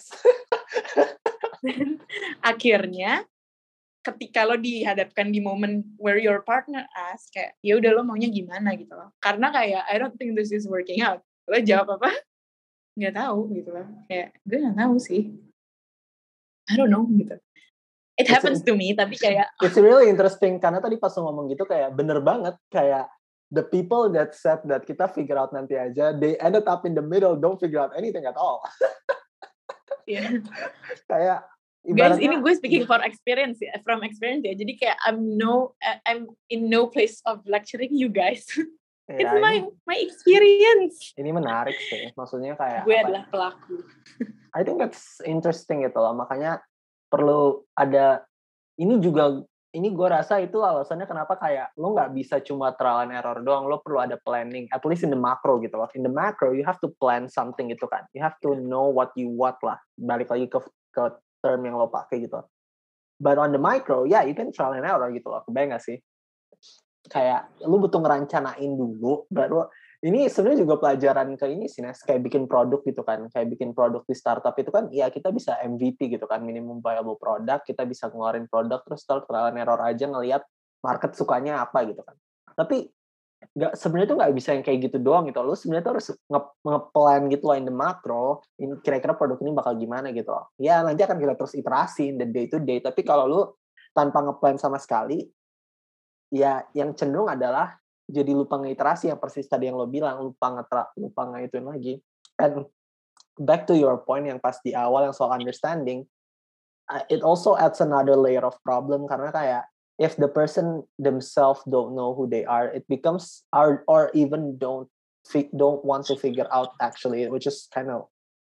Speaker 3: dan akhirnya ketika lo dihadapkan di momen where your partner ask kayak ya udah lo maunya gimana gitu loh, karena kayak I don't think this is working out, lo jawab apa nggak tahu gitu loh, kayak gue nggak tahu sih, I don't know gitu. It happens
Speaker 2: it's,
Speaker 3: to me, tapi kayak
Speaker 2: it's really interesting karena tadi pas lo ngomong gitu kayak bener banget, kayak the people that said that kita figure out nanti aja, they ended up in the middle, don't figure out anything at all.
Speaker 3: yeah.
Speaker 2: Kayak
Speaker 3: guys, ini gue speaking for experience ya, from experience ya. Jadi kayak I'm no, I'm in no place of lecturing you guys.
Speaker 2: ya,
Speaker 3: It's my
Speaker 2: ini,
Speaker 3: my experience.
Speaker 2: Ini menarik sih, maksudnya kayak
Speaker 3: gue
Speaker 2: apa,
Speaker 3: adalah pelaku.
Speaker 2: I think that's interesting gitu loh, makanya perlu ada ini juga. Ini gue rasa itu alasannya kenapa kayak lo nggak bisa cuma trial and error doang, lo perlu ada planning, at least in the macro gitu loh. In the macro, you have to plan something gitu kan. You have to know what you want lah. Balik lagi ke ke term yang lo pakai gitu. But on the micro, ya yeah, you can trial and error gitu loh. Kebayang gak sih? Kayak lo butuh ngerancanain dulu, baru ini sebenarnya juga pelajaran ke ini sih, Nes, kayak bikin produk gitu kan, kayak bikin produk di startup itu kan, ya kita bisa M V P gitu kan, minimum viable product, kita bisa ngeluarin produk terus trial and error aja ngelihat market sukanya apa gitu kan. Tapi nggak, sebenarnya tuh nggak bisa yang kayak gitu doang gitu, lo sebenarnya tuh harus nge-plan gitu loh in the macro, ini kira-kira produk ini bakal gimana gitu loh. Ya nanti akan kita terus iterasi in the day to day, tapi kalau lo tanpa nge-plan sama sekali, ya yang cenderung adalah jadi lupa ngeiterasi, yang persis tadi yang lo bilang, lupa ngetra, lupa ngehituin lagi. And back to your point yang pas di awal yang soal understanding, uh, it also adds another layer of problem, karena kayak if the person themselves don't know who they are, it becomes or or even don't don't want to figure out actually, which is kind of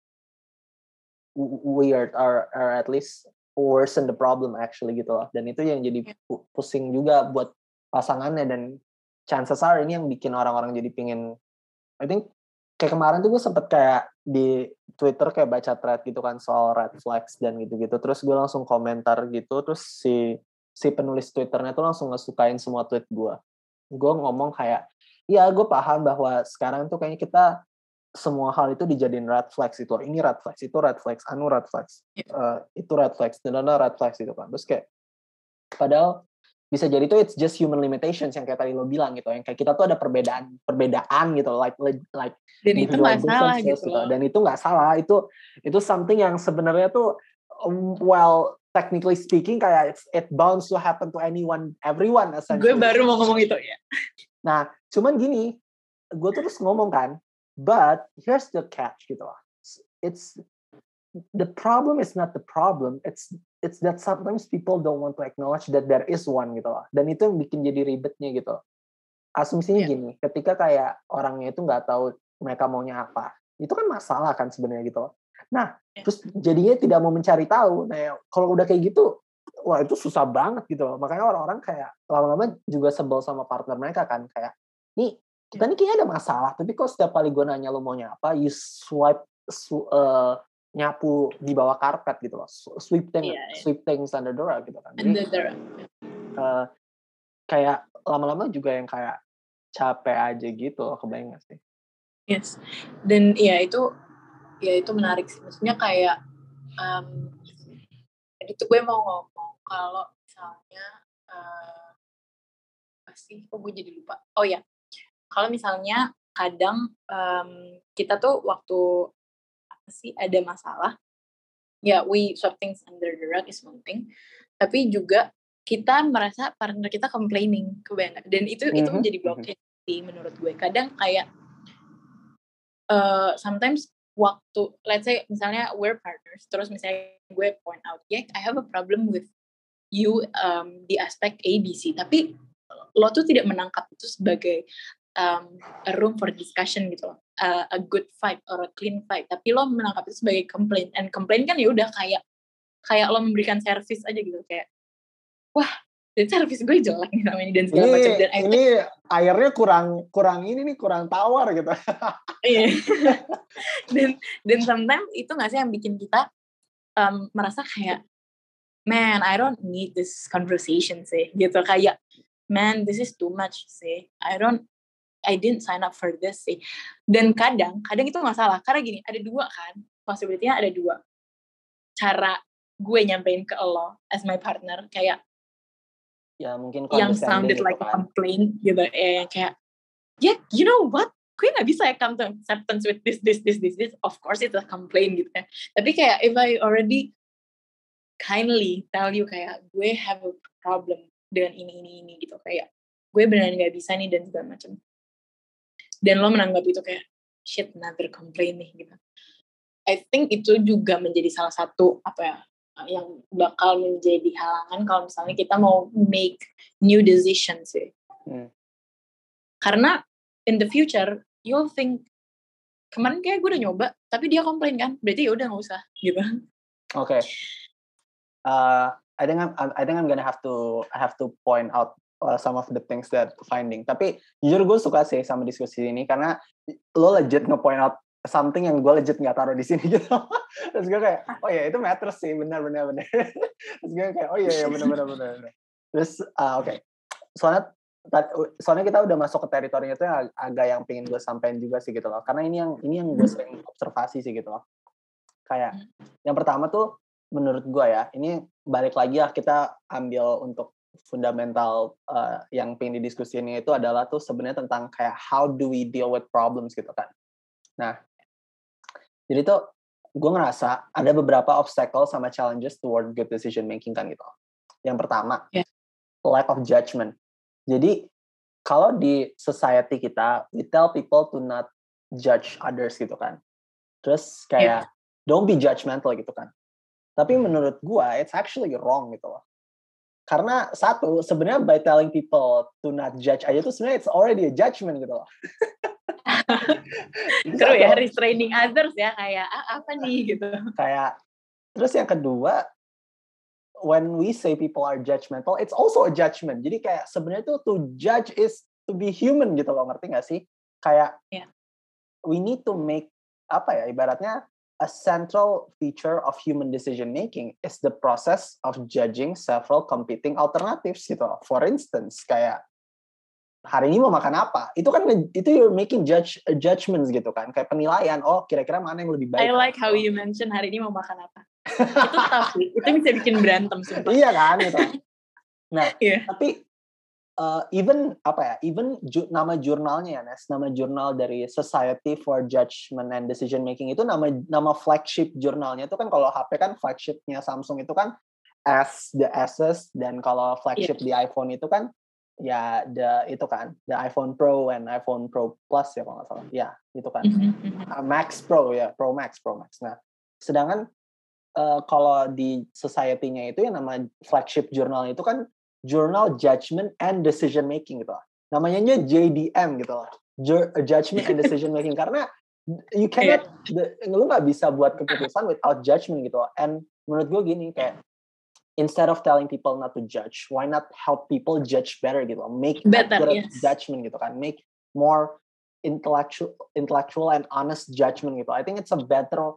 Speaker 2: weird, or or at least worsen the problem actually gitu loh. Dan itu yang jadi pusing juga buat pasangannya, dan chances are ini yang bikin orang-orang jadi pingin, I think kayak kemarin tuh gue sempet kayak di Twitter kayak baca thread gitu kan soal red flags dan gitu-gitu, terus gue langsung komentar gitu, terus si si penulis Twitternya tuh langsung ngesukain semua tweet gue. Gue ngomong kayak, iya gue paham bahwa sekarang tuh kayaknya kita semua hal itu dijadiin red flags, itu ini red flags, itu red flags, anu red flags, uh, itu red flags, dan ada red flags gitu kan. Terus kayak padahal bisa jadi tuh it's just human limitations yang kayak tadi lo bilang gitu, yang kayak kita tuh ada perbedaan perbedaan gitu, like like
Speaker 3: dan itu nggak salah gitu,
Speaker 2: gitu. Dan itu nggak salah, itu itu something yang sebenarnya tuh um, well technically speaking kayak it bounds to happen to anyone, everyone essentially.
Speaker 3: Gue baru mau ngomong itu ya.
Speaker 2: Nah cuman gini, gue terus ngomong kan, but here's the catch gitu lah, it's the problem is not the problem, it's it's that sometimes people don't want to acknowledge that there is one gitu loh. Dan itu yang bikin jadi ribetnya gitu. Asumsinya yeah. gini, ketika kayak orangnya itu nggak tahu mereka maunya apa, itu kan masalah kan sebenarnya gitu loh. Nah, yeah. terus jadinya tidak mau mencari tahu. Nah, kalau udah kayak gitu, wah itu susah banget gitu loh. Makanya orang-orang kayak lama-lama juga sebel sama partner mereka kan, kayak, nih kita nih kayaknya ada masalah, tapi kok setiap kali gue nanya lo maunya apa, you swipe su- uh, nyapu di bawah karpet gitu loh, sweep things, yeah, yeah. sweep things under the rug gitu kan. Jadi uh, kayak lama-lama juga yang kayak capek aja gitu loh, kebayang gak sih?
Speaker 3: Yes, dan ya itu ya itu menarik sih, maksudnya kayak um, itu gue mau ngomong kalau misalnya uh, pasti kok gue jadi lupa. Oh ya, kalau misalnya kadang um, kita tuh waktu sih ada masalah ya, yeah, we sweep things under the rug is one thing, tapi juga kita merasa partner kita complaining, kebanyakan, dan itu mm-hmm. itu menjadi blockade mm-hmm. sih menurut gue. Kadang kayak uh, sometimes waktu let's say misalnya we're partners, terus misalnya gue point out, yeah, I have a problem with you um, di aspek A, B, C, tapi lo tuh tidak menangkap itu sebagai um, a room for discussion gitu loh, uh, a good fight or a clean fight, tapi lo menangkap itu sebagai complaint, and complaint kan ya udah kayak kayak lo memberikan service aja gitu, kayak wah, jadi service gue jelek nih sama ini dan segala macam. Dan
Speaker 2: ini airnya kurang kurang ini nih kurang tawar gitu.
Speaker 3: Iya. dan dan sometimes itu nggak sih yang bikin kita um, merasa kayak, man, I don't need this conversation sih, gitu. Kayak, man, this is too much sih. I don't, I didn't sign up for this sih. Dan kadang, kadang itu nggak salah. Karena gini, ada dua kan, possibility-nya ada dua. Cara gue nyampein ke lo as my partner, kayak
Speaker 2: ya mungkin
Speaker 3: yang sounded
Speaker 2: gitu
Speaker 3: like
Speaker 2: kan.
Speaker 3: a complaint gitu, eh, kayak, yeah, you know what? Gue nggak bisa ya come to acceptance with this, this, this, this, this. Of course it's a complaint gitu ya. Tapi kayak if I already kindly tell you kayak gue have a problem dengan ini, ini, ini gitu. Kayak gue beneran gak bisa nih dan segala macam. Dan lo menanggap itu kayak, shit, another complaint nih gitu. I think itu juga menjadi salah satu apa ya, yang bakal menjadi halangan kalau misalnya kita mau make new decisions sih. Hmm. Karena in the future, you'll think, kemarin kayak gue udah nyoba, tapi dia komplain kan, berarti ya udah nggak usah, gitu.
Speaker 2: Oke. Okay. Uh, I think I'm, I think I'm gonna have to, I have to point out uh, some of the things that finding. Tapi jujur gue suka sih sama diskusi ini karena lo legit nge-point out something yang gue legit nggak taruh di sini gitu. Terus gue kayak, oh ya itu matters sih, benar benar benar. Terus gue kayak, oh iya ya benar benar benar. Terus uh, oke, okay. soalnya soalnya kita udah masuk ke teritorinya itu yang agak yang pengen gue sampein juga sih gitu loh, karena ini yang ini yang gue sering observasi sih gitu loh. Kayak yang pertama tuh menurut gue ya, ini balik lagi ya kita ambil untuk fundamental uh, yang pengen didiskusin itu adalah tuh sebenarnya tentang kayak how do we deal with problems gitu kan. Nah jadi tuh gue ngerasa ada beberapa obstacle sama challenges toward good decision making kan gitu. Yang pertama, yeah. lack of judgment. Jadi kalau di society kita, we tell people to not judge others gitu kan. Terus kayak yeah. don't be judgmental gitu kan. Tapi menurut gue, it's actually wrong gitu loh. Karena satu, sebenarnya by telling people to not judge aja tuh sebenarnya it's already a judgment gitu loh.
Speaker 3: Terus ya restraining others ya kayak ah, apa nih gitu.
Speaker 2: Kayak terus yang kedua, when we say people are judgmental, it's also a judgment. Jadi kayak sebenarnya tuh to judge is to be human gitu loh, ngerti nggak sih? Kayak yeah. we need to make apa ya ibaratnya a central feature of human decision making is the process of judging several competing alternatives gitu. For instance, kayak hari ini mau makan apa? Itu kan itu you're making judge judgments gitu kan, kayak penilaian. Oh kira-kira mana yang lebih baik?
Speaker 3: I like how you mention hari ini mau makan apa. Itu tapi itu bisa bikin berantem sumpah.
Speaker 2: Iya kan gitu. Nah, yeah. tapi uh, even apa ya? Even ju, nama jurnalnya ya, Nes, nama jurnal dari Society for Judgment and Decision Making itu nama nama flagship jurnalnya itu kan kalau H P kan flagshipnya Samsung itu kan S the Asus, dan kalau flagship yeah. di iPhone itu kan ya the itu kan the iPhone Pro and iPhone Pro Plus ya kalau nggak salah. Ya, itu kan. Mm-hmm. Uh, Max Pro ya, Pro Max, Pro Max. Nah, sedangkan Uh, kalau di society-nya itu yang nama flagship jurnal itu kan Journal Judgment and Decision Making gitu loh. Namanya J D M gitu loh. Judgment and Decision Making karena you cannot yeah. the, lu nggak bisa buat keputusan without judgment gitu loh. And menurut gue gini kayak instead of telling people not to judge, why not help people judge better gitu loh. Make
Speaker 3: better
Speaker 2: yes. judgment gitu kan. Make more intellectual intellectual and honest judgment gitu. I think it's a better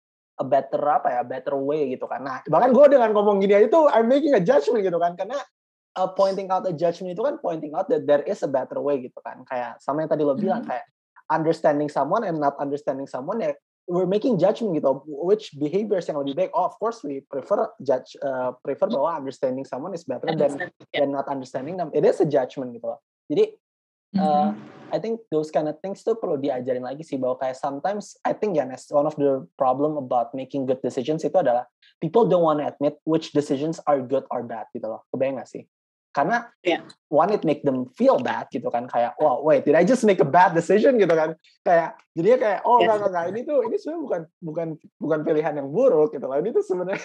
Speaker 2: a better apa ya, better way gitu kan. Nah, bahkan gue dengan ngomong gini aja tuh I'm making a judgment gitu kan, karena uh, pointing out a judgment itu kan pointing out that there is a better way gitu kan. Kayak sama yang tadi lo bilang kayak understanding someone and not understanding someone ya, we're making judgment gitu, which behaviors yang lebih baik. Oh, of course we prefer judge uh, prefer bahwa understanding someone is better than yeah. than not understanding them. It is a judgment gitu loh. Jadi Uh, I think those kind of things tuh perlu diajarin lagi sih, bahwa kayak sometimes I think ya Nes, one of the problem about making good decisions itu adalah people don't want to admit which decisions are good or bad gitu loh. Kebayang gak sih? karena
Speaker 3: yeah.
Speaker 2: one it make them feel bad gitu kan, kayak wow wait did I just make a bad decision gitu kan, kayak jadinya kayak oh enggak enggak yes. ini tuh ini sebenarnya bukan bukan bukan pilihan yang buruk gitu loh, ini tuh sebenarnya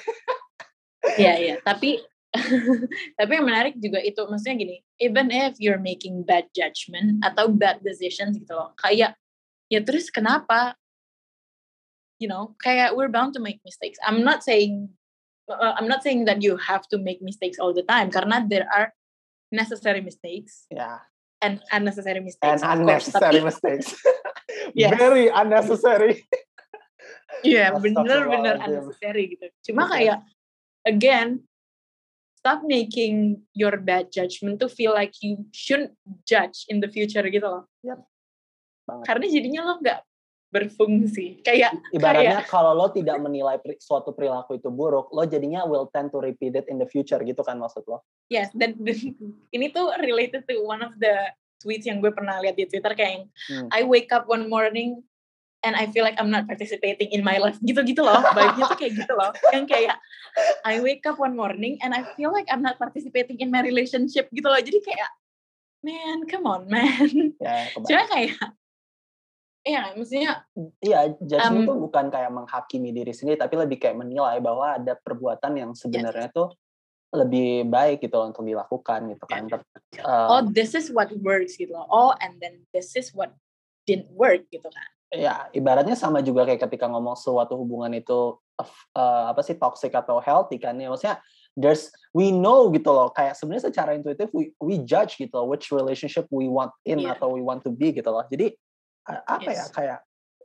Speaker 3: iya iya tapi tapi yang menarik juga itu, maksudnya gini, even if you're making bad judgment atau bad decisions gitu loh, kayak ya terus kenapa, you know, kayak we're bound to make mistakes. I'm not saying uh, I'm not saying that you have to make mistakes all the time, karena there are necessary mistakes
Speaker 2: yeah.
Speaker 3: and unnecessary mistakes
Speaker 2: and unnecessary
Speaker 3: course,
Speaker 2: mistakes
Speaker 3: yes.
Speaker 2: very unnecessary.
Speaker 3: Iya yeah, bener-bener unnecessary gitu. Cuma okay. kayak again stop making your bad judgment to feel like you shouldn't judge in the future gitu loh.
Speaker 2: Yep.
Speaker 3: Karena jadinya lo gak berfungsi. Kayak
Speaker 2: ibaratnya
Speaker 3: kayak,
Speaker 2: kalau lo tidak menilai pri, suatu perilaku itu buruk, lo jadinya will tend to repeat it in the future gitu kan maksud lo?
Speaker 3: Yes, dan, dan ini tuh related to one of the tweets yang gue pernah lihat di Twitter kayak hmm. I wake up one morning and I feel like I'm not participating in my life. Gitu-gitu loh. Vibe-nya tuh kayak gitu loh. Yang kayak I wake up one morning and I feel like I'm not participating in my relationship gitu loh. Jadi kayak man, come on man.
Speaker 2: Ya,
Speaker 3: cuma kayak iya, maksudnya
Speaker 2: iya, judgment um, tuh bukan kayak menghakimi diri sendiri, tapi lebih kayak menilai bahwa ada perbuatan yang sebenarnya yes. tuh lebih baik gitu loh untuk dilakukan gitu kan.
Speaker 3: Yeah. Um, oh, this is what works gitu loh. Oh, and then this is what didn't work gitu kan.
Speaker 2: Ya, ibaratnya sama juga kayak ketika ngomong suatu hubungan itu uh, apa sih toxic atau healthy kan ya, maksudnya there's we know gitu loh, kayak sebenarnya secara intuitif we we judge gitu loh, which relationship we want in yeah. atau we want to be gitu loh. Jadi uh, apa yes. ya kayak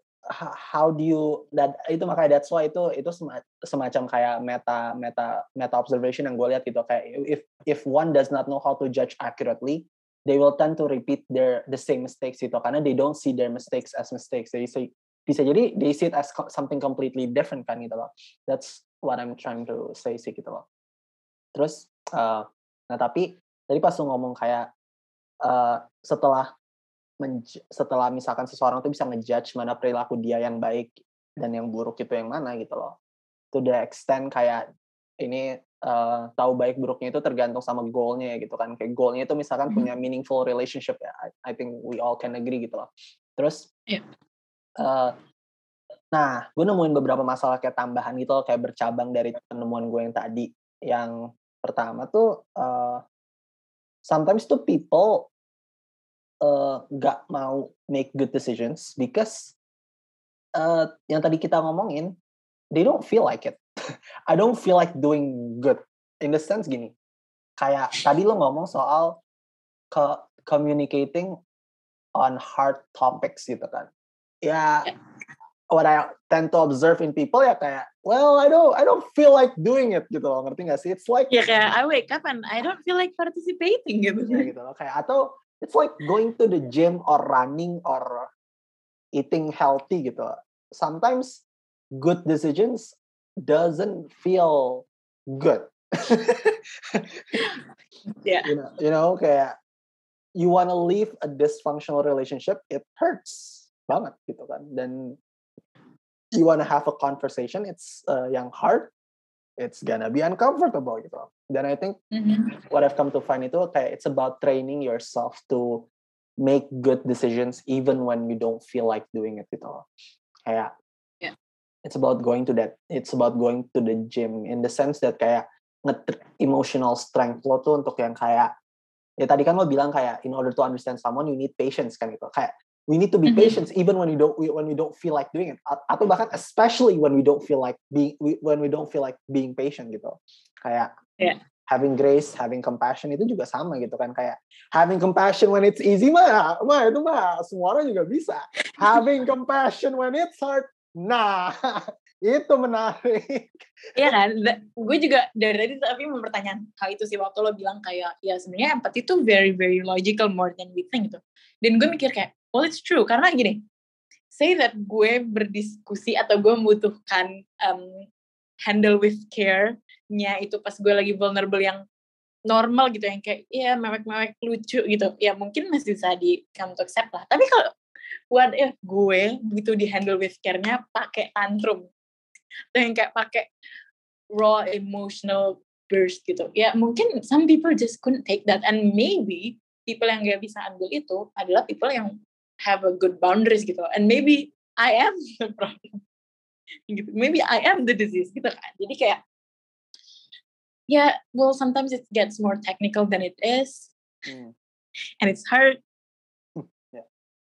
Speaker 2: how do you that itu makanya that's why itu itu semacam kayak meta meta meta observation yang gue lihat gitu, kayak if if one does not know how to judge accurately, they will tend to repeat their the same mistakes gitu, karena they don't see their mistakes as mistakes. They say bisa jadi they see it as something completely different kan gitu loh. That's what I'm trying to say sih gitu loh. Terus uh, nah tapi tadi pas lu ngomong kayak uh, setelah menj- setelah misalkan seseorang tuh bisa ngejudge mana perilaku dia yang baik dan yang buruk itu yang mana gitu loh. To the extent kayak ini Uh, tahu baik buruknya itu tergantung sama goalnya gitu kan, kayak goalnya itu misalkan mm-hmm. punya meaningful relationship ya, I, I think we all can agree gitu loh. Terus yeah. uh, nah gue nemuin beberapa masalah kayak tambahan gitu loh, kayak bercabang dari penemuan gue yang tadi. Yang pertama tuh uh, sometimes tuh people uh, gak mau make good decisions because uh, yang tadi kita ngomongin, they don't feel like it. I don't feel like doing good. In the sense gini, kayak tadi lo ngomong soal ke- communicating on hard topics gitu kan. Ya, yeah, what I tend to observe in people ya kayak, well, I don't, I don't feel like doing it gitu loh, ngerti nggak sih? It's like
Speaker 3: ya kayak I wake up and I don't feel like participating gitu.
Speaker 2: Ya gitu loh, kayak atau it's like going to the gym or running or eating healthy gitu. Sometimes good decisions doesn't feel good.
Speaker 3: Yeah.
Speaker 2: You know, you know, kayak you wanna leave a dysfunctional relationship, it hurts banget gitu kan. Dan you wanna have a conversation, it's uh, yang hard, it's gonna be uncomfortable gitu. Dan I think mm-hmm. what I've come to find itu kayak it's about training yourself to make good decisions even when you don't feel like doing it gitu. Kayak it's about going to that, it's about going to the gym in the sense that kayak nge- emotional strength lo tuh untuk yang kayak, ya tadi kan lo bilang kayak in order to understand someone you need patience kan gitu, kayak we need to be mm-hmm. patient even when we don't when we don't feel like doing it, atau bahkan especially when we don't feel like being when we don't feel like being patient gitu, kayak
Speaker 3: yeah.
Speaker 2: having grace, having compassion itu juga sama gitu kan, kayak having compassion when it's easy mah, mah itu mah semua orang juga bisa, having compassion when it's hard. Nah, itu menarik.
Speaker 3: Iya kan, gue juga dari tadi tapi mempertanyakan hal itu sih waktu lo bilang kayak ya sebenarnya empathy itu very very logical more than we think gitu. Dan gue mikir kayak, well it's true karena gini, say that gue berdiskusi atau gue membutuhkan um, handle with care-nya itu pas gue lagi vulnerable yang normal gitu, yang kayak ya mewek-mewek lucu gitu, ya mungkin masih bisa di come to accept lah. Tapi kalau what if gue begitu di handle with care-nya pakai tantrum, dan kayak pakai raw emotional outburst gitu. Ya mungkin some people just couldn't take that, and maybe people yang gak bisa ambil itu adalah people yang have a good boundaries gitu, and maybe I am the problem gitu. Maybe I am the disease gitu kan. Jadi kayak yeah, well sometimes it gets more technical than it is, hmm. and it's hard.
Speaker 2: Yeah.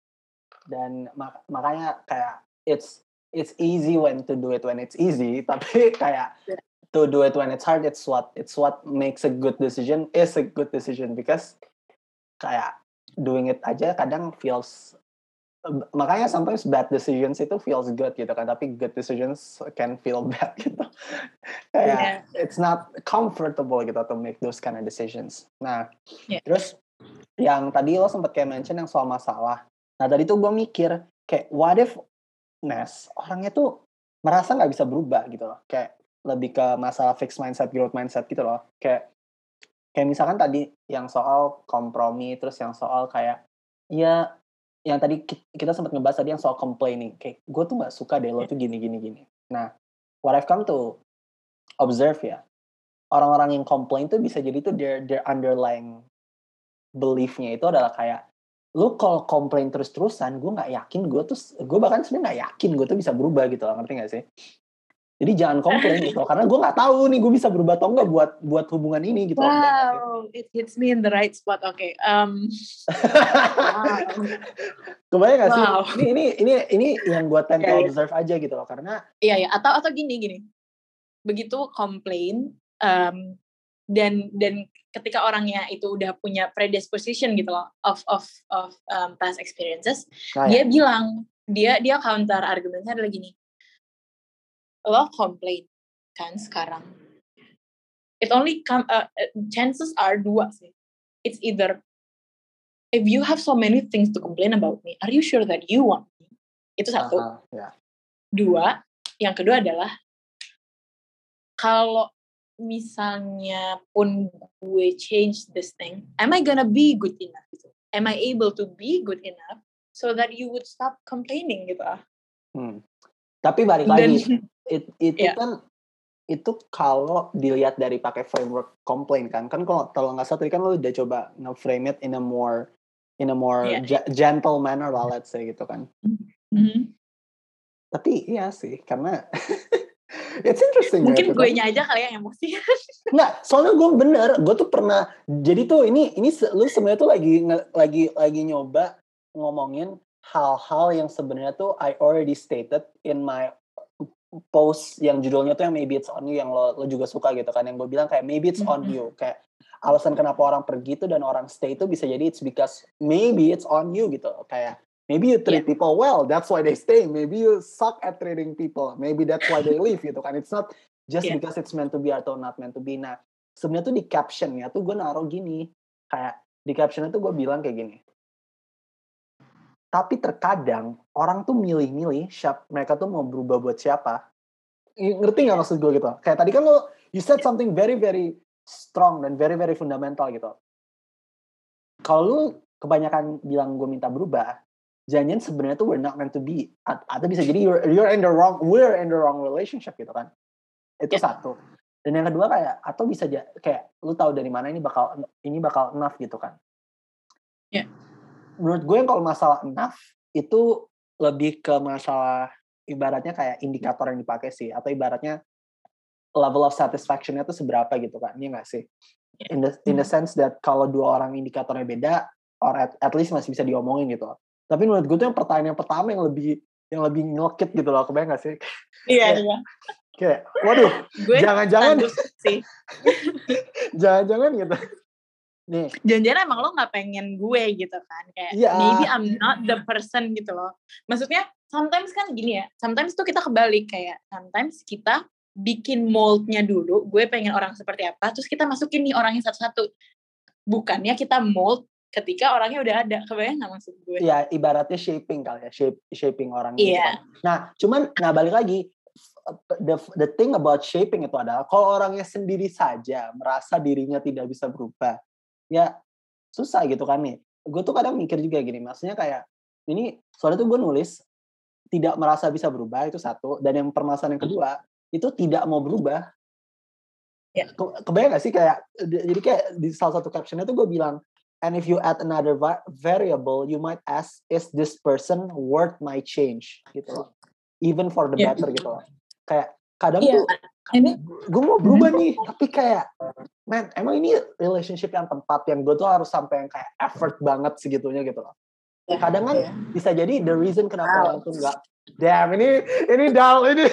Speaker 2: Dan mak- makanya kayak it's it's easy when to do it when it's easy, tapi kayak yeah. to do it when it's hard, it's what it's what makes a good decision is a good decision, because kayak doing it aja kadang feels, makanya sometimes bad decisions itu feels good gitu kan, tapi good decisions can feel bad gitu. Kayak yeah. it's not comfortable gitu to make those kind of decisions. Nah, yeah. terus yang tadi lo sempat kayak mention yang soal masalah. Nah tadi tuh gue mikir kayak what if Nes orangnya tuh merasa nggak bisa berubah gitu loh, kayak lebih ke masalah fixed mindset, growth mindset gitu loh. Kayak kayak misalkan tadi yang soal kompromi, terus yang soal kayak ya yang tadi kita sempat ngebahas tadi yang soal complaining, kayak gue tuh nggak suka deh lo tuh gini gini gini. Nah, what I've come to observe ya, orang-orang yang complain tuh bisa jadi tuh their their underlying belief-nya itu adalah kayak lu kalau komplain terus-terusan, gue nggak yakin gue tuh, gue bahkan sebenarnya nggak yakin gue tuh bisa berubah gitu loh, ngerti nggak sih? Jadi jangan komplain gitu, karena gue nggak tahu nih gue bisa berubah atau enggak buat buat hubungan ini gitu.
Speaker 3: Wow, it hits me in the right spot. Oke, okay. um,
Speaker 2: wow. Kebayang nggak sih?
Speaker 3: Wow.
Speaker 2: Ini ini ini ini yang gue tend to
Speaker 3: yeah,
Speaker 2: observe yeah. aja gitu loh, karena
Speaker 3: iya ya, atau atau gini gini, begitu komplain um, dan dan ketika orangnya itu udah punya predisposition gitu loh of of of um, past experiences, nah, dia ya. bilang dia dia counter argumentnya adalah gini. Lo complain kan sekarang, it only come uh, chances are dua sih, it's either if you have so many things to complain about me, are you sure that you want me? Itu satu. Uh-huh, yeah. Dua, yang kedua adalah kalau misalnya pun gue change this thing, am I gonna be good enough gitu? Am I able to be good enough so that you would stop complaining gitu ah?
Speaker 2: Hmm. Tapi balik lagi, it, itu yeah. kan itu kalau dilihat dari pakai framework complain kan, kan kalau kalau nggak salah tadi kan lo udah coba nge-frame it in a more in a more yeah. ge- gentle manner lah, let's say gitu kan. Mm-hmm. Tapi iya sih, karena it's interesting.
Speaker 3: Mungkin
Speaker 2: ya,
Speaker 3: gue nya aja kali yang emosi.
Speaker 2: Nggak, soalnya gue bener, gue tuh pernah, jadi tuh ini ini lu sebenarnya tuh lagi lagi lagi nyoba ngomongin hal-hal yang sebenarnya tuh I already stated in my post yang judulnya tuh yang maybe it's on you, yang lo, lo juga suka gitu kan, yang gue bilang kayak maybe it's on you, kayak alasan kenapa orang pergi tuh dan orang stay tuh bisa jadi it's because maybe it's on you gitu, kayak maybe you treat yeah. people well, that's why they stay, maybe you suck at treating people, maybe that's why they leave gitu kan, it's not just yeah. because it's meant to be atau not meant to be. Nah sebenarnya tuh di captionnya tuh gue naruh gini, kayak di captionnya tuh gue bilang kayak gini, tapi terkadang orang tuh milih-milih siap, mereka tuh mau berubah buat siapa. Ngerti nggak maksud gue gitu? Kayak tadi kan lo, you said something very very strong dan very very fundamental gitu. Kalau lo kebanyakan bilang gue minta berubah, jangan sebenarnya tuh we're not meant to be. Atau bisa jadi you're, you're in the wrong, we're in the wrong relationship gitu kan. Itu yeah. satu. Dan yang kedua kayak, atau bisa j- kayak lo tahu dari mana ini bakal ini bakal enough gitu kan.
Speaker 3: Iya. Yeah.
Speaker 2: Menurut gue yang kalau masalah enough itu lebih ke masalah ibaratnya kayak indikator yang dipakai sih, atau ibaratnya level of satisfaction-nya itu seberapa gitu kan, ini nggak sih? In the in the sense that kalau dua orang indikatornya beda, or at, at least masih bisa diomongin gitu. Tapi menurut gue tuh yang pertanyaan yang pertama yang lebih yang lebih ngelekit gitu loh, kebayang nggak sih?
Speaker 3: Iya iya.
Speaker 2: Kayak, waduh, gue jangan-jangan
Speaker 3: sih,
Speaker 2: jangan-jangan gitu.
Speaker 3: Nih. Jangan-jangan emang lo gak pengen gue gitu kan, kayak yeah. maybe I'm not the person gitu loh. Maksudnya sometimes kan gini ya, sometimes tuh kita kebalik, kayak sometimes kita bikin moldnya dulu, gue pengen orang seperti apa, terus kita masukin nih orangnya satu-satu, bukannya kita mold ketika orangnya udah ada. Kebayang gak maksud gue?
Speaker 2: Iya, ibaratnya shaping kali ya, shape, shaping orang
Speaker 3: yeah.
Speaker 2: gitu kan. Nah cuman, nah balik lagi, the, the thing about shaping itu adalah kalau orangnya sendiri saja merasa dirinya tidak bisa berubah, ya susah gitu kan nih. Gue tuh kadang mikir juga gini, maksudnya kayak ini soalnya tuh gue nulis tidak merasa bisa berubah itu satu, dan yang permasalahan yang kedua itu tidak mau berubah.
Speaker 3: Yeah.
Speaker 2: Ke- kebayang gak sih kayak jadi kayak di salah satu captionnya tuh gue bilang, and if you add another va- variable, you might ask, is this person worth my change gitu loh, even for the
Speaker 3: Yeah.
Speaker 2: better gitu loh. Kayak kadang
Speaker 3: Iya,
Speaker 2: tuh
Speaker 3: ini
Speaker 2: gue mau berubah nih, tapi kayak man, emang ini relationship yang tepat yang gue tuh harus sampai yang kayak effort banget segitunya gitu loh. Kadang kan
Speaker 3: Iya.
Speaker 2: bisa jadi the reason kenapa
Speaker 3: Wow.
Speaker 2: orang tuh nggak, damn ini ini down ini,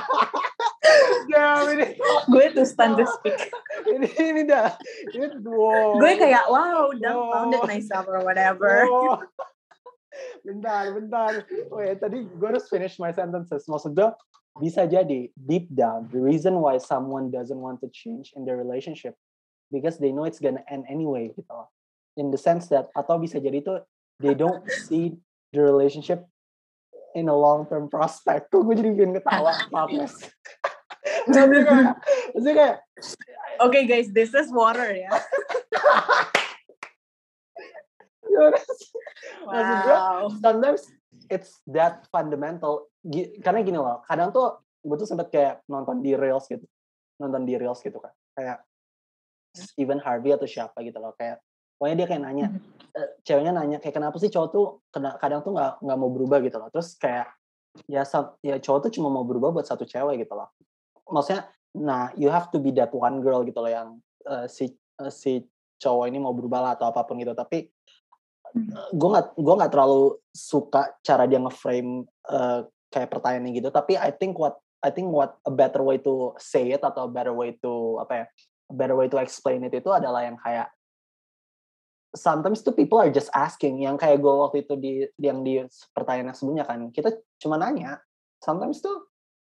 Speaker 2: damn ini,
Speaker 3: gue tuh stand to speak.
Speaker 2: ini ini dah, ini wow.
Speaker 3: Gue kayak wow, dumbfounded
Speaker 2: Wow.
Speaker 3: myself or whatever.
Speaker 2: Oh. bentar, bentar. Oh ya, tadi gue harus finish my sentences. Maksud gue, bisa jadi deep down the reason why someone doesn't want to change in their relationship because they know it's gonna end anyway gitu loh. In the sense that, atau bisa jadi itu they don't see the relationship in a long term prospect. Kok gue jadi bikin ketawa, maaf guys. Maksudnya kayak, maksudnya kayak
Speaker 3: Okay guys, this is water ya.
Speaker 2: Maksud gue,
Speaker 3: Wow.
Speaker 2: sometimes it's that fundamental. Gi- Karena gini loh, kadang tuh gue tuh sempet kayak nonton di Reels gitu. Nonton di Reels gitu kan. Kayak Stephen Harvey atau siapa gitu loh. Kayak, pokoknya dia kayak nanya, eh, ceweknya nanya, kayak kenapa sih cowok tuh kena- kadang tuh gak, gak mau berubah gitu loh. Terus kayak, ya, sam- ya cowok tuh cuma mau berubah buat satu cewek gitu loh. Maksudnya, nah you have to be that one girl gitu loh yang uh, si uh, si cowok ini mau berubah lah atau apapun gitu. Tapi gue nggak gue nggak terlalu suka cara dia ngeframe uh, kayak pertanyaannya gitu. Tapi I think what I think what a better way to say it atau a better way to apa ya, a better way to explain it itu adalah yang kayak sometimes tuh people are just asking, yang kayak gue waktu itu di yang di pertanyaan sebelumnya kan, kita cuma nanya sometimes tuh,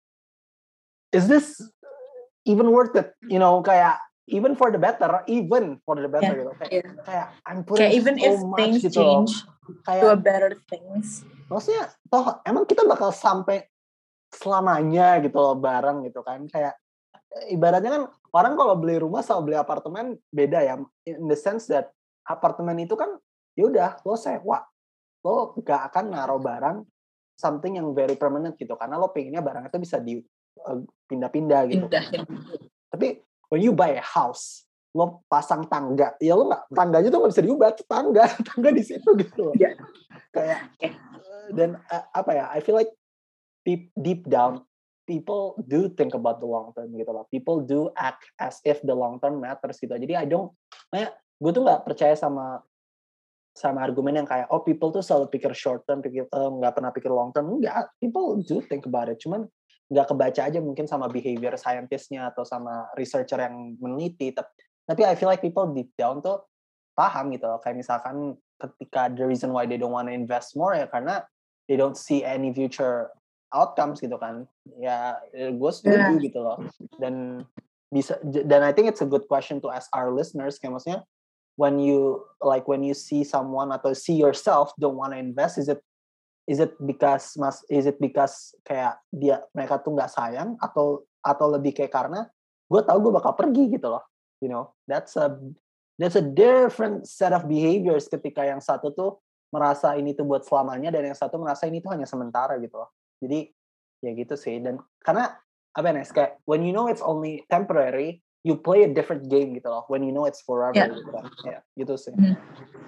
Speaker 2: is this even worth it, you know, kayak even for the better, even for the better
Speaker 3: Yeah,
Speaker 2: gitu, kayak,
Speaker 3: yeah.
Speaker 2: kayak I'm putting
Speaker 3: Kayak even
Speaker 2: so
Speaker 3: if
Speaker 2: much
Speaker 3: things
Speaker 2: gitu,
Speaker 3: change
Speaker 2: kayak
Speaker 3: to a better things.
Speaker 2: maksudnya toh emang kita bakal sampai selamanya gitu loh bareng gitu kan, kayak ibaratnya kan orang kalau beli rumah sama beli apartemen beda ya, in the sense that apartemen itu kan ya udah lo sewa, lo gak akan naruh barang something yang very permanent gitu, karena lo pengennya barang itu bisa di uh, pindah-pindah gitu.
Speaker 3: Pindahin.
Speaker 2: Tapi when you buy a house, lo pasang tangga, ya lo nggak, tangganya tuh nggak bisa diubah, tangga tangga di situ gitu.
Speaker 3: Yeah.
Speaker 2: Kayak
Speaker 3: Okay.
Speaker 2: uh, dan uh, apa ya? I feel like deep deep down people do think about the long term gitu loh. People do act as if the long term matters gitu. Jadi I don't, kayak gue tuh nggak percaya sama sama argumen yang kayak oh people tuh selalu pikir short term, pikir nggak uh, pernah pikir long term. Enggak, people do think about it. Cuman nggak kebaca aja mungkin sama behavior scientist-nya atau sama researcher yang meneliti. Tapi I feel like people deep down tuh paham gitu loh. Kayak misalkan ketika the reason why they don't want to invest more ya karena they don't see any future outcomes gitu kan. Ya gue setuju yeah. gitu loh. Dan bisa, dan I think it's a good question to ask our listeners. Kayak maksudnya when you like when you see someone atau see yourself don't want to invest, is it is it because mas is it because kayak dia mereka tuh nggak sayang atau atau lebih kayak karena gue tahu gue bakal pergi gitu loh, you know, that's a that's a different set of behaviors ketika yang satu tuh merasa ini tuh buat selamanya dan yang satu merasa ini tuh hanya sementara gitu loh. Jadi ya gitu sih. Dan karena apa ya, kayak when you know it's only temporary, you play a different game gitu loh. When you know it's forever yeah. gitu kan. Ya, gitu sih.
Speaker 3: Mm.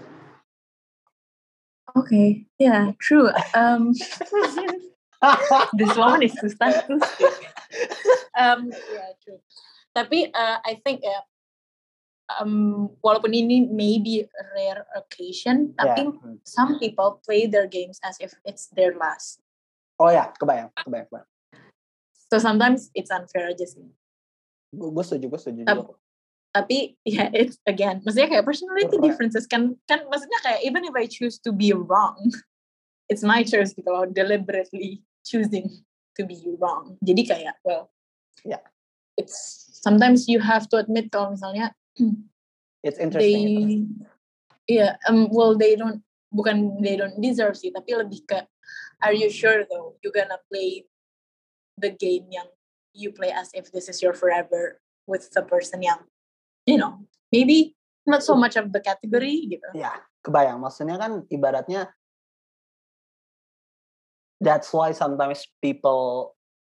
Speaker 3: Okay, yeah, true. Um, this one is to stand to speak. Um, yeah, true. Tapi uh, I think ya, uh, um, walaupun ini maybe a rare occasion, tapi yeah. some people play their games as if it's their last.
Speaker 2: Oh ya, kebayang, kebayang, kebayang.
Speaker 3: So sometimes it's unfair aja sih.
Speaker 2: Gue setuju, gue setuju
Speaker 3: Uh,
Speaker 2: juga.
Speaker 3: Tapi ya yeah, it's again, maksudnya kayak personality Correct. differences kan, kan maksudnya kayak even if I choose to be wrong, it's my choice gitu loh, deliberately choosing to be wrong. Jadi kayak well,
Speaker 2: yeah,
Speaker 3: it's sometimes you have to admit kalau misalnya
Speaker 2: it's interesting.
Speaker 3: They, yeah, um, well they don't, bukan they don't deserve sih, tapi lebih ke are you sure though you gonna play the game yang you play as if this is your forever with the person yang you know, maybe not so much of the category gitu.
Speaker 2: Ya, kebayang. Maksudnya kan ibaratnya that's why sometimes people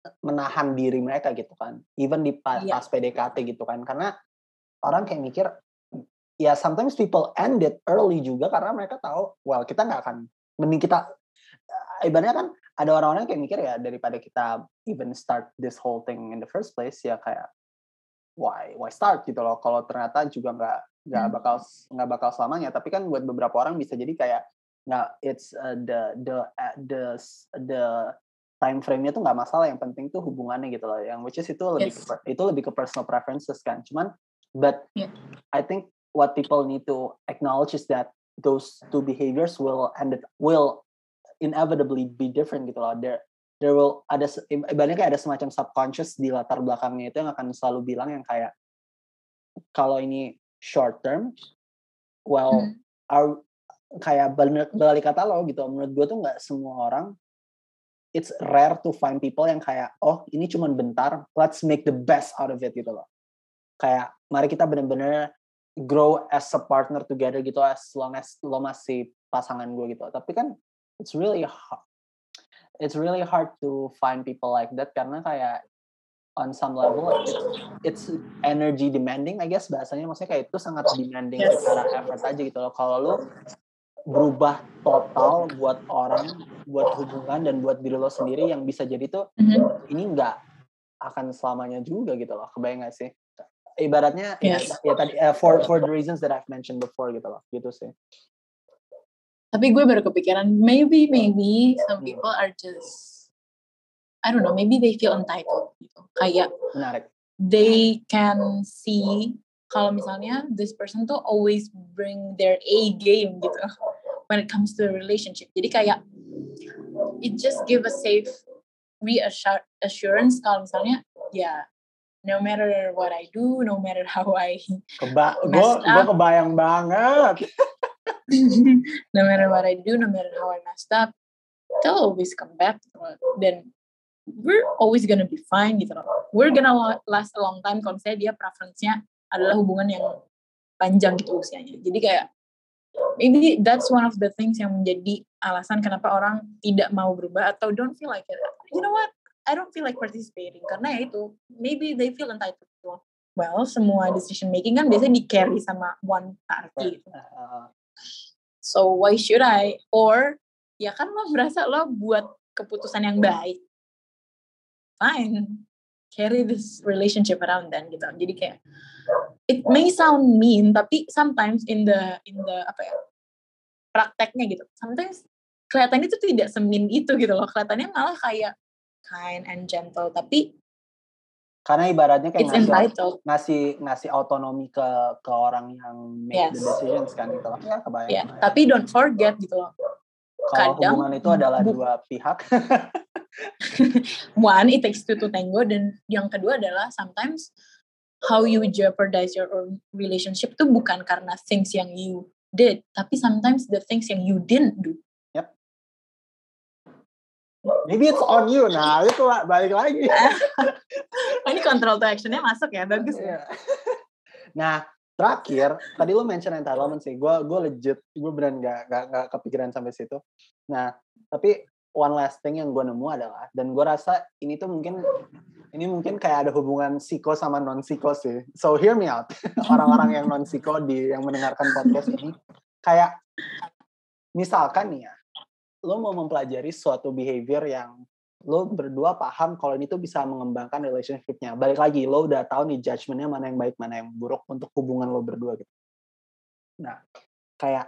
Speaker 2: menahan diri mereka gitu kan, even di pas,
Speaker 3: Iya.
Speaker 2: pas P D K T gitu kan, karena orang kayak mikir ya sometimes people end it early juga karena mereka tahu well kita nggak akan mending kita ibaratnya kan ada orang-orang kayak mikir ya daripada kita even start this whole thing in the first place ya kayak why why start gitu loh kalau ternyata juga nggak nggak
Speaker 3: Hmm.
Speaker 2: bakal nggak bakal selamanya, tapi kan buat beberapa orang bisa jadi kayak nggak it's uh, the the uh, the the time frame-nya tuh nggak masalah, yang penting tuh hubungannya gitu loh, yang which is itu lebih
Speaker 3: Yes.
Speaker 2: ke, itu lebih ke personal preferences kan, cuman but
Speaker 3: Yeah.
Speaker 2: I think what people need to acknowledge is that those two behaviors will end it, will inevitably be different gitu loh. There there will ada ibaratnya kayak ada semacam subconscious di latar belakangnya itu yang akan selalu bilang yang kayak kalau ini short term, well,
Speaker 3: Hmm.
Speaker 2: our, kayak balik kata lo gitu. Menurut gue tuh nggak semua orang. It's rare to find people yang kayak oh ini cuma bentar, let's make the best out of it gitu loh. Kayak mari kita benar-benar grow as a partner together gitu as long as lo masih pasangan gue gitu. Tapi kan it's really hard, it's really hard to find people like that karena kayak on some level it's, it's energy demanding I guess bahasanya, maksudnya kayak itu sangat demanding
Speaker 3: Yes.
Speaker 2: secara effort aja gitu loh. Kalau lo berubah total buat orang, buat hubungan dan buat diri lo sendiri yang bisa jadi tuh
Speaker 3: Mhm.
Speaker 2: ini nggak akan selamanya juga gitu loh. Kebayang gak sih? Ibaratnya
Speaker 3: Yes.
Speaker 2: ya, ya tadi uh, for for the reasons that I've mentioned before gitu loh. Gitu sih.
Speaker 3: Tapi gue baru kepikiran maybe maybe some
Speaker 2: Hmm.
Speaker 3: people are just I don't know, maybe they feel entitled gitu. Kayak
Speaker 2: Menarik.
Speaker 3: they can see kalau misalnya this person tuh always bring their A game gitu when it comes to a relationship. Jadi kayak it just give a safe reassurance kalau misalnya ya no matter what I do, no matter how I
Speaker 2: Keba gue
Speaker 3: messed
Speaker 2: gue
Speaker 3: up,
Speaker 2: kebayang banget.
Speaker 3: no matter what I do, no matter how I messed up, they'll always come back. Dan we're always gonna be fine gitu loh. We're gonna last a long time kalau misalnya dia preference-nya adalah hubungan yang panjang gitu usianya. Jadi kayak maybe that's one of the things yang menjadi alasan kenapa orang tidak mau berubah atau don't feel like it. You know what? I don't feel like participating karena ya itu maybe they feel entitled to. Well, semua decision making kan biasanya di carry sama one party gitu. So why should I? Or ya kan lo berasa lo buat keputusan yang baik. Fine, carry this relationship around then gitu. Jadi kayak it may sound mean, tapi sometimes in the in the apa ya prakteknya gitu, sometimes kelihatannya itu tidak semin itu gitu loh. Kelihatannya malah kayak kind and gentle, tapi
Speaker 2: karena ibaratnya kayak
Speaker 3: it's
Speaker 2: ngasih
Speaker 3: entitled.
Speaker 2: ngasih ngasih otonomi ke ke orang yang make
Speaker 3: Yes.
Speaker 2: the decisions kan gitu loh. Ya kebayang.
Speaker 3: Yeah,
Speaker 2: kebayang.
Speaker 3: tapi don't forget gitu loh.
Speaker 2: Kalau
Speaker 3: Kadang
Speaker 2: hubungan itu adalah
Speaker 3: bu-
Speaker 2: dua pihak.
Speaker 3: One, it takes two to tango, dan yang kedua adalah sometimes how you jeopardize your own relationship tuh bukan karena things yang you did, tapi sometimes the things yang you didn't do.
Speaker 2: Yep. Maybe it's on you. Nah, itu balik lagi.
Speaker 3: Oh, ini control to action-nya masuk ya, bagus ya.
Speaker 2: Nah, terakhir, tadi lo mention entitlement sih. Gue gue legit, gue beneran gak, gak, gak kepikiran sampai situ. Nah, tapi one last thing yang gue nemu adalah, dan gue rasa ini tuh mungkin, ini mungkin kayak ada hubungan psiko sama non-psiko sih. So hear me out. Orang-orang yang non-psiko di yang mendengarkan podcast ini, kayak misalkan nih ya, lo mau mempelajari suatu behavior yang lo berdua paham kalau ini tuh bisa mengembangkan relationship-nya. Balik lagi, lo udah tahu nih judgment-nya mana yang baik, mana yang buruk untuk hubungan lo berdua gitu. Nah, kayak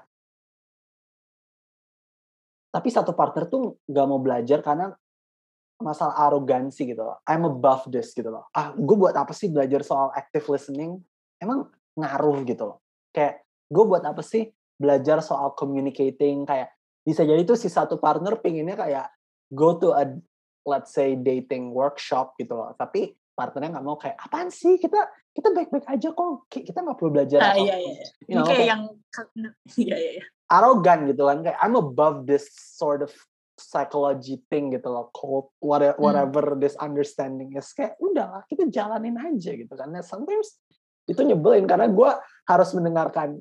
Speaker 2: tapi satu partner tuh gak mau belajar karena masalah arogansi gitu loh. I'm above this gitu loh. Ah, gue buat apa sih belajar soal active listening? Emang ngaruh gitu loh. Kayak gue buat apa sih belajar soal communicating? Kayak bisa jadi tuh si satu partner pinginnya kayak go to a let's say dating workshop gitu loh. Tapi partnernya nggak mau, kayak apaan sih, kita kita baik-baik aja kok, kita nggak perlu belajar
Speaker 3: Ah,
Speaker 2: apa.
Speaker 3: iya, iya.
Speaker 2: You know,
Speaker 3: Ini kayak
Speaker 2: kayak
Speaker 3: yang iya iya.
Speaker 2: arogan gitu kan, kayak I'm above this sort of psychology thing gitu loh, called whatever, whatever hmm. this understanding is. Kayak udahlah, kita jalanin aja gitu kan. Nah, sometimes itu nyebelin karena gue harus mendengarkan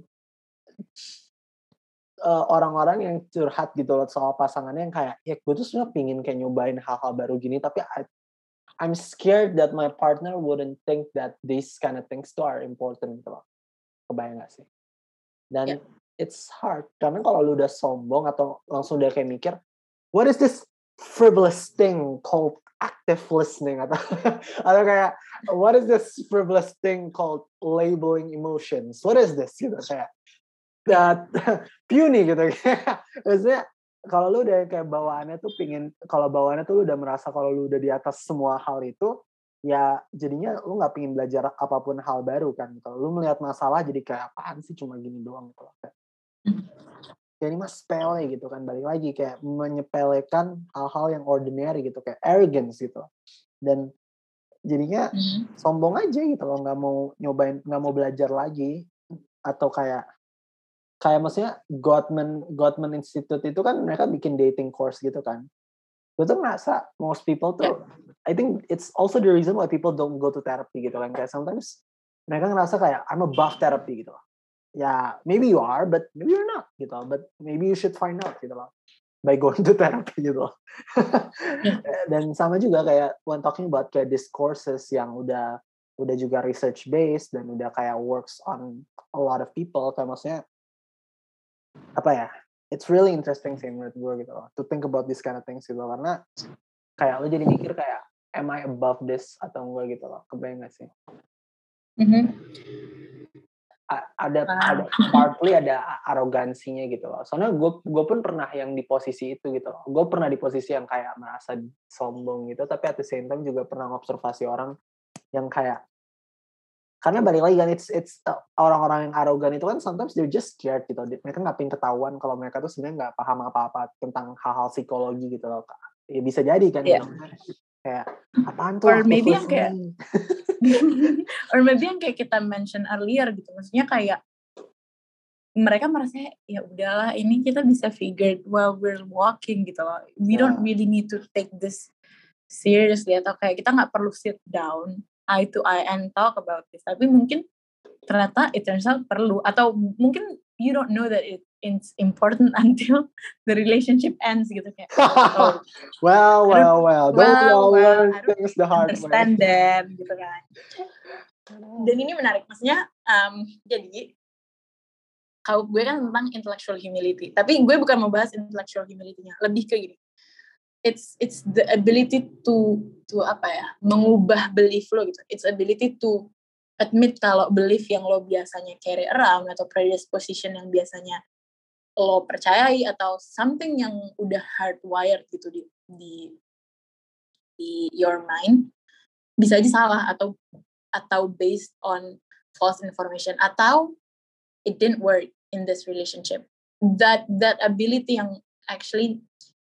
Speaker 2: uh, orang-orang yang curhat gitu loh soal pasangannya yang kayak, ya gue tuh sebenarnya pingin kayak nyobain hal-hal baru gini, tapi I, I'm scared that my partner wouldn't think that these kind of things too are important gitu loh. Kebayang gak sih? Dan yeah. It's hard karena kalau lu udah sombong atau langsung udah kayak mikir, what is this frivolous thing called active listening atau atau kayak what is this frivolous thing called labeling emotions? What is this gitu kayak that puny gitu. Maksudnya kalau lu udah kayak bawaannya tuh pingin, kalau bawaannya tuh lu udah merasa kalau lu udah di atas semua hal itu, ya jadinya lu nggak pingin belajar apapun hal baru kan. Kalau lu melihat masalah jadi kayak apaan sih cuma gini doang gitu. Jadi mas sepele gitu kan, balik lagi kayak menyepelekan hal-hal yang ordinary gitu, kayak arrogance gitu. Dan jadinya mm. sombong aja gitu loh, nggak mau nyobain, nggak mau belajar lagi. Atau kayak kayak maksudnya Gottman Gottman Institute itu kan mereka bikin dating course gitu kan. Gue tuh ngerasa most people tuh, yeah. I think it's also the reason why people don't go to therapy gitu kan. Kayak sometimes mereka ngerasa kayak I'm above therapy gitu loh. Ya, maybe you are, but maybe you're not gitu loh. But maybe you should find out gitu loh by going to therapy gitu loh. Dan sama juga kayak when talking about kayak discourses yang udah udah juga research based dan udah kayak works on a lot of people, kayak maksudnya apa ya, it's really interesting sih menurut gue gitu loh, to think about this kind of things gitu loh, karena kayak lo jadi mikir kayak am I above this atau enggak gitu loh, kebayang gak sih?
Speaker 3: Mm-hmm.
Speaker 2: A- ada wow. ada partly ada arogansinya gitu loh, soalnya gue gue pun pernah yang di posisi itu gitu loh, gue pernah di posisi yang kayak merasa sombong gitu, tapi at the same time juga pernah ngobservasi orang yang kayak, karena balik lagi kan it's it's uh, orang-orang yang arogan itu kan sometimes they're just scared gitu, mereka nggak pengen ketahuan kalau mereka tuh sebenarnya nggak paham apa-apa tentang hal-hal psikologi gitu loh, ya bisa jadi kan yeah. gitu. Kayak apaan tuh
Speaker 3: or maybe yang kayak or maybe yang kayak kita mention earlier gitu, maksudnya kayak mereka merasa ya udahlah ini kita bisa figure while we're walking gitu loh, we yeah. don't really need to take this seriously, atau kayak kita nggak perlu sit down eye to eye and talk about this, tapi mungkin ternyata it turns out perlu, atau mungkin you don't know that it, it's important until the relationship ends gitu kayak oh,
Speaker 2: well well well don't well, we all well, learn things the hard way,
Speaker 3: understand them gitu kan. Dan ini menarik, maksudnya um, jadi kalau gue kan tentang intellectual humility, tapi gue bukan mau bahas intellectual humility-nya, lebih ke gini, it's it's the ability to to apa ya, mengubah belief lo gitu, it's ability to admit kalau belief yang lo biasanya carry around atau predisposition yang biasanya lo percayai atau something yang udah hardwired gitu di di di your mind bisa aja salah, atau atau based on false information, atau it didn't work in this relationship. That that ability yang actually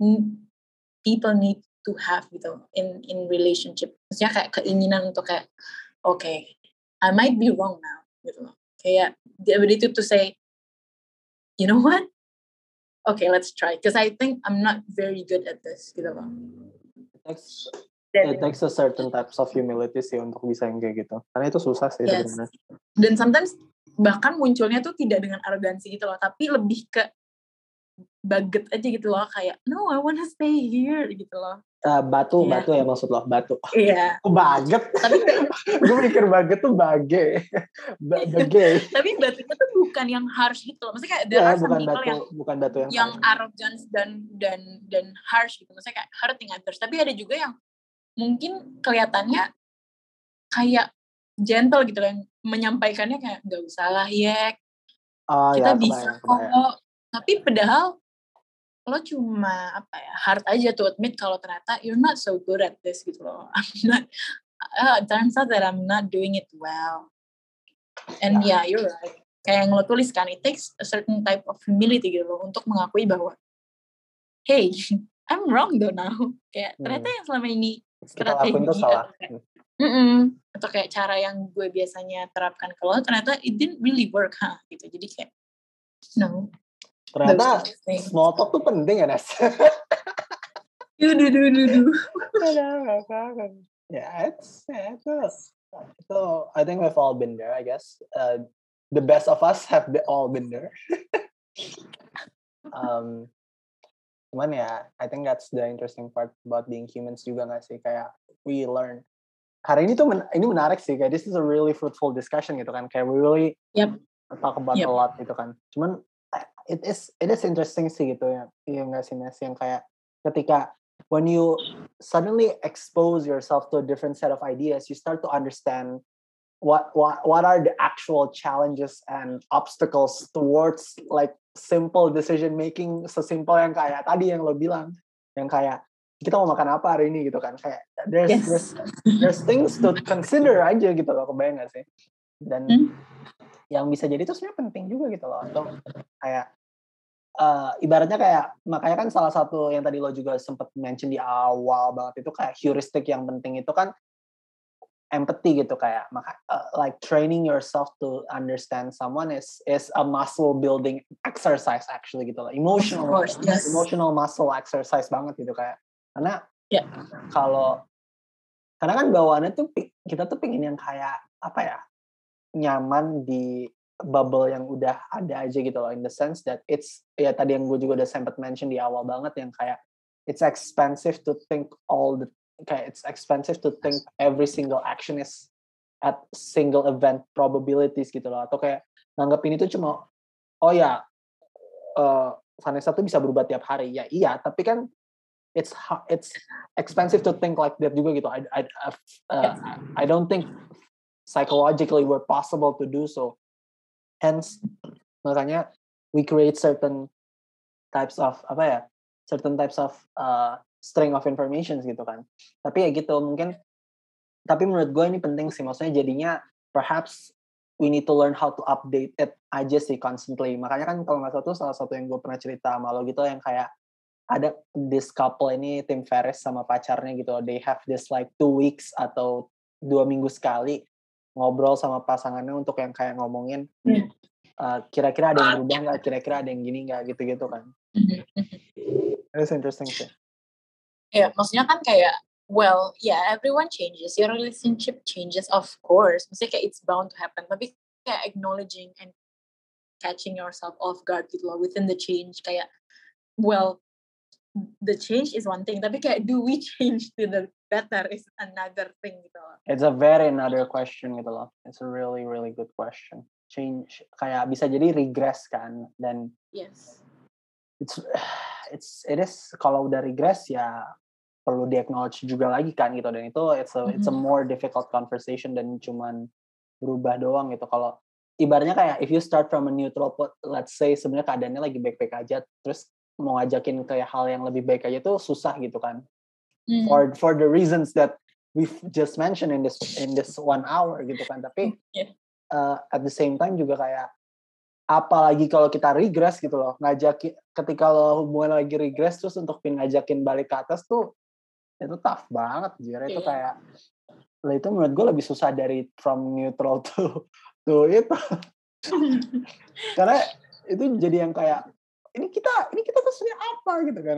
Speaker 3: people need to have gitu in in relationship. Maksudnya kayak keinginan untuk kayak oke, okay, I might be wrong now gitu. Kayak the ability to say, you know what? Okay, let's try. Because I think I'm not very good at this gitu loh.
Speaker 2: It takes, it takes a certain types of humility sih untuk bisa yang kayak gitu. Karena itu susah sih yes. sebenarnya.
Speaker 3: Dan sometimes bahkan munculnya tuh tidak dengan arogansi gitu loh, tapi lebih ke baget aja gitu loh, kayak no I wanna stay here gitu loh.
Speaker 2: Uh, batu, yeah. batu ya maksud lo, batu.
Speaker 3: Iya.
Speaker 2: Yeah. Baget. Tapi gue mikir baget tuh bage. Ba- bage.
Speaker 3: Tapi batunya tuh bukan yang harsh gitu loh. Maksudnya kayak there
Speaker 2: yeah,
Speaker 3: are some
Speaker 2: bukan
Speaker 3: people
Speaker 2: batu,
Speaker 3: yang
Speaker 2: bukan batu yang
Speaker 3: yang arrogance dan dan dan harsh gitu. Maksudnya kayak hurting others. Tapi ada juga yang mungkin kelihatannya kayak gentle gitu loh, yang menyampaikannya kayak nggak usah lah Yek.
Speaker 2: Oh,
Speaker 3: kita
Speaker 2: ya,
Speaker 3: bisa
Speaker 2: kebayang, kebayang.
Speaker 3: kok. Tapi padahal lo cuma apa ya, hard aja to admit kalau ternyata you're not so good at this gitu loh. I'm not, uh, it turns out that I'm not doing it well. And yeah, yeah you're right. Kayak yang lo tulis kan, it takes a certain type of humility gitu loh untuk mengakui bahwa hey, I'm wrong though now. Kayak hmm. ternyata yang selama ini strategi atau kayak, atau kayak cara yang gue biasanya terapkan ke lo ternyata it didn't really work, huh? Gitu. Jadi kayak no.
Speaker 2: Ternyata small talk tuh penting ya, Nas.
Speaker 3: Duh, duh, duh, duh, duh.
Speaker 2: Yeah, it's, yeah, it's, so I think we've all been there, I guess. Uh, the best of us have been, all been there. um, Cuman ya, I think that's the interesting part about being humans juga nggak sih, kayak we learn. Hari ini tuh men- ini menarik sih, kayak this is a really fruitful discussion gitu kan, kayak we really
Speaker 3: Yep.
Speaker 2: talk about
Speaker 3: Yep.
Speaker 2: a lot gitu kan. Cuman it is it is interesting sih gitu ya, iya nggak sih Nes, yang kayak ketika when you suddenly expose yourself to a different set of ideas, you start to understand what what what are the actual challenges and obstacles towards like simple decision making, sesimpel yang kayak tadi yang lo bilang, yang kayak kita mau makan apa hari ini gitu kan, kayak there's
Speaker 3: Yes.
Speaker 2: there's there's things to consider aja gitu loh, kebayang gak sih? Dan
Speaker 3: Hmm?
Speaker 2: yang bisa jadi itu sebenarnya penting juga gitu loh, atau kayak uh, ibaratnya kayak makanya kan salah satu yang tadi lo juga sempat mention di awal banget itu kayak heuristik yang penting itu kan empathy gitu, kayak maka uh, like training yourself to understand someone is is a muscle building exercise actually gitu loh, emotional
Speaker 3: Of course, yes.
Speaker 2: emotional muscle exercise banget gitu, kayak karena
Speaker 3: Yeah.
Speaker 2: kalau karena kan bawaannya tuh kita tuh pengen yang kayak apa ya, nyaman di bubble yang udah ada aja gitu loh, in the sense that it's ya tadi yang gue juga udah sempat mention di awal banget, yang kayak it's expensive to think all the kayak it's expensive to think every single action is at single event probabilities gitu loh, atau kayak nganggap ini tuh cuma oh ya uh, Vanessa tuh bisa berubah tiap hari, ya iya, tapi kan it's it's expensive to think like that juga gitu. I I uh, I don't think psychologically we're possible to do so. Hence makanya we create certain types of apa ya, certain types of uh, string of information gitu kan. Tapi ya gitu mungkin. Tapi menurut gue ini penting sih, maksudnya jadinya perhaps we need to learn how to update it aja sih constantly. Makanya kan kalau nggak salah tuh salah satu yang gue pernah cerita sama lo gitu, yang kayak ada this couple ini, Tim Ferriss sama pacarnya gitu, they have this like two weeks atau dua minggu sekali ngobrol sama pasangannya untuk yang kayak ngomongin uh, kira-kira ada yang berubah nggak, kira-kira ada yang gini nggak, gitu-gitu kan. It's interesting sih.
Speaker 3: Ya, maksudnya kan kayak, well, yeah, everyone changes, your relationship changes, of course. Maksudnya kayak it's bound to happen, tapi kayak acknowledging and catching yourself off guard gitu loh within the change, kayak, well, the change is one thing, tapi kayak do we change to the better is another thing gitu loh.
Speaker 2: It's a very another question gitu loh. It's a really really good question. Change kayak bisa jadi regress kan, dan
Speaker 3: yes,
Speaker 2: it's it's it is kalau udah regress ya perlu di acknowledge juga lagi kan gitu, dan itu it's a mm-hmm. it's a more difficult conversation dan cuman berubah doang gitu. Kalau ibaratnya kayak if you start from a neutral, let's say sebenarnya keadaannya lagi baik-baik aja, terus mau ngajakin kayak hal yang lebih baik aja tuh susah gitu kan. Mm. For for the reasons that we've just mentioned in this in this one hour gitu kan. Tapi yeah. uh, at the same time juga kayak apalagi kalau kita regress gitu loh, ngajakin ketika lo hubungan lagi regress terus untuk pin ngajakin balik ke atas tuh itu tough banget jir. Itu kayak lah, itu menurut gue lebih susah dari from neutral to to itu. Karena itu jadi yang kayak ini kita ini kita tuh sebenarnya apa gitu kan.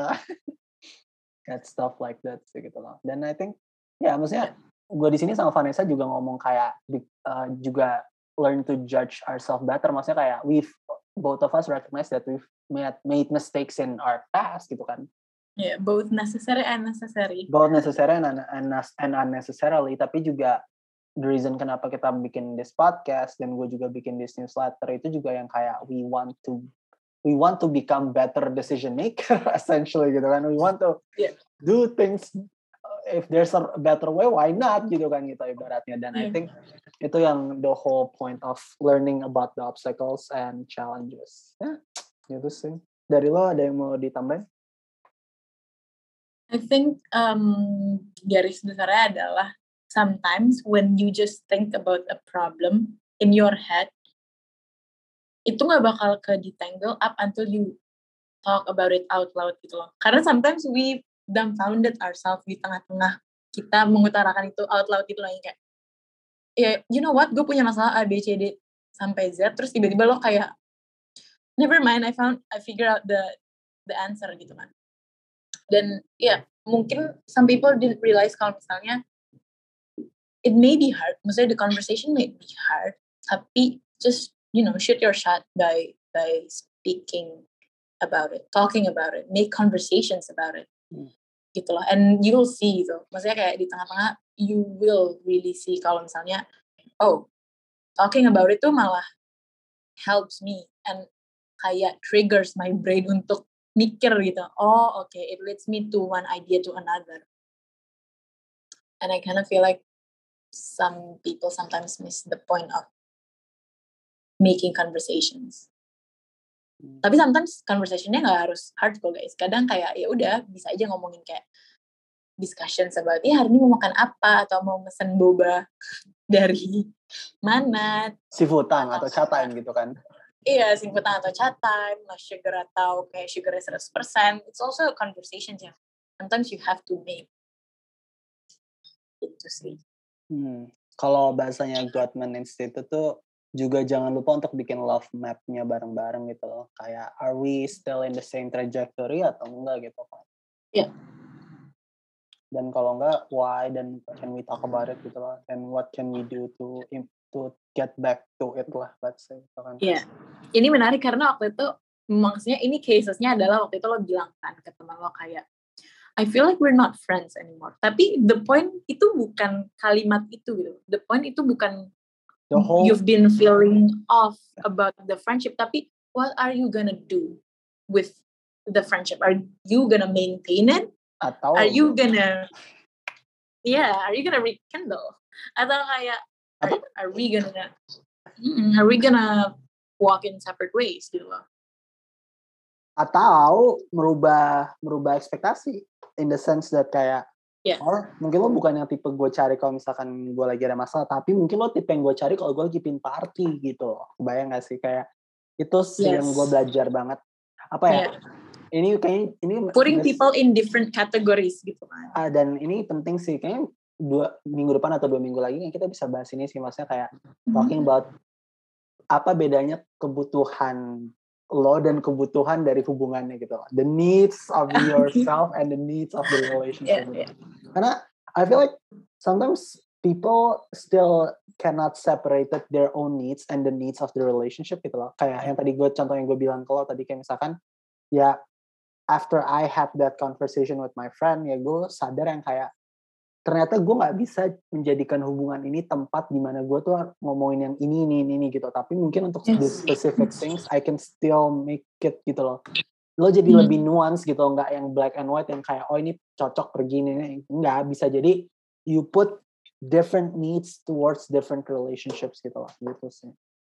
Speaker 2: That stuff like that sih gitu loh. Dan I think ya maksudnya gue di sini sama Vanessa juga ngomong kayak uh, juga learn to judge ourselves better. Maksudnya kayak we've both of us recognize that we've made, made mistakes in our past gitu kan.
Speaker 3: Yeah, both necessary and unnecessary.
Speaker 2: Both necessary and, and, and unnecessarily. Tapi juga the reason kenapa kita bikin this podcast dan gue juga bikin this newsletter itu juga yang kayak we want to we want to become better decision maker essentially gitu kan. We want to yeah. do things, if there's a better way, why not gitu kan gitu ibaratnya. Dan yeah. I think itu yang the whole point of learning about the obstacles and challenges. Ya, gitu sih. Dari lo ada yang mau ditambahin?
Speaker 3: I think um, garis besarnya adalah sometimes when you just think about a problem in your head, itu gak bakal ke detangle up until you talk about it out loud gitu loh. Karena sometimes we dumbfounded ourselves di tengah-tengah kita mengutarakan itu out loud gitu loh, kayak ya you know what, gue punya masalah A B C D sampai Z, terus tiba-tiba lo kayak never mind, I found I figure out the the answer gitu kan. Dan ya mungkin some people didn't realize kalau misalnya it may be hard, maksudnya the conversation may be hard, tapi just you know shoot your shot by by speaking about it, talking about it, make conversations about it.
Speaker 2: Hmm.
Speaker 3: Gitu loh. And you'll see gitu. Maksudnya kayak di tengah-tengah, you will really see kalau misalnya, oh, talking about it tuh malah helps me and kayak triggers my brain untuk mikir gitu. Oh, okay, it leads me to one idea to another. And I kind of feel like some people sometimes miss the point of making conversations. Hmm. Tapi sometimes conversationnya nggak harus hard kok guys. Kadang kayak ya udah bisa aja ngomongin kayak discussions about ya hari ini mau makan apa atau mau mesen boba dari mana.
Speaker 2: Sifutang atau chat time gitu kan.
Speaker 3: Iya, singkatan atau chat time, lah sugar atau kayak sugar seratus persen. It's also a conversation yang sometimes you have to make. Itu sih.
Speaker 2: Hmm. Kalau bahasanya Gottman Institute tuh juga jangan lupa untuk bikin love map-nya bareng-bareng gitu loh. Kayak are we still in the same trajectory atau enggak gitu kan.
Speaker 3: Iya. Yeah.
Speaker 2: Dan kalau enggak, why, dan can we talk about it gitu loh. And what can we do to to get back to it lah, let's say. Gitu kan.
Speaker 3: Iya. Yeah. Ini menarik karena waktu itu, maksudnya ini casesnya adalah waktu itu lo bilang kan ke teman lo kayak, I feel like we're not friends anymore. Tapi the point itu bukan kalimat itu gitu. The point itu bukan
Speaker 2: the whole,
Speaker 3: you've been feeling off about the friendship. Tapi what are you gonna do with the friendship? Are you gonna maintain it?
Speaker 2: Atau
Speaker 3: are you gonna, yeah, are you gonna rekindle? Atau kayak, are, are we gonna, mm, are we gonna walk in separate ways gitu loh?
Speaker 2: Atau merubah merubah ekspektasi in the sense that kayak
Speaker 3: yeah.
Speaker 2: Or mungkin lo bukan yang tipe gue cari kalau misalkan gue lagi ada masalah, tapi mungkin lo tipe yang gue cari kalau gue lagi pin party gitu. Kebayang gak sih kayak itu sih yes. yang gue belajar banget. Apa ya? Yeah. Ini kayaknya ini
Speaker 3: putting this, people in different categories gitu kan.
Speaker 2: Uh, dan ini penting sih kayaknya dua minggu depan atau dua minggu lagi kita bisa bahas ini sih, maksudnya kayak mm-hmm. talking about apa bedanya kebutuhan lo dan kebutuhan dari hubungannya gitu. The needs of yourself and the needs of the relationship.
Speaker 3: Yeah, yeah.
Speaker 2: Karena I feel like sometimes people still cannot separate their own needs and the needs of the relationship gitu loh. Kayak yang tadi gue contoh yang gue bilang ke lo tadi kayak misalkan ya after I had that conversation with my friend ya gue sadar yang kayak ternyata gue nggak bisa menjadikan hubungan ini tempat di mana gue tuh ngomongin yang ini ini ini, ini gitu. Tapi mungkin untuk yes. the specific things I can still make it gitu loh. Lo jadi hmm. lebih nuance gitu, nggak yang black and white yang kayak oh ini cocok pergi ini, nggak bisa. Jadi you put different needs towards different relationships gitu loh, gitu sih.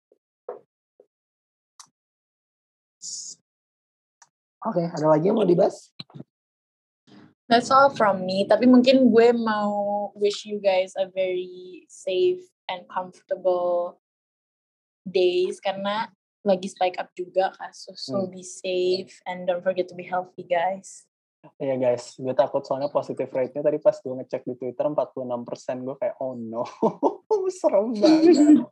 Speaker 2: Oke, okay, ada lagi yang mau dibahas?
Speaker 3: That's all from me. Tapi mungkin gue mau wish you guys a very safe and comfortable days karena lagi spike up juga kasus. So hmm. be safe and don't forget to be healthy, guys.
Speaker 2: Iya guys, gue takut soalnya positive rate-nya tadi pas gue ngecek di Twitter empat puluh enam persen, gue kayak oh no, serem banget.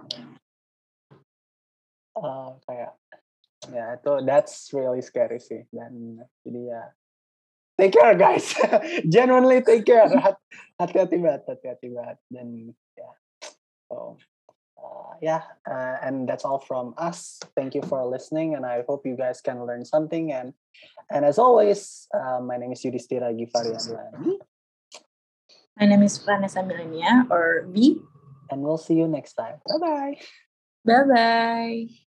Speaker 2: uh, kayak ya itu that's really scary sih, dan jadi ya take care guys, genuinely take care, hati-hati banget, hati-hati banget, dan ya, so uh, yeah, uh, and that's all from us. Thank you for listening, and I hope you guys can learn something. And and as always, uh, my name is Yudhistira Givari Adlani.
Speaker 3: My name is Vanessa Milenia, or V,
Speaker 2: and we'll see you next time. Bye bye.
Speaker 3: Bye bye.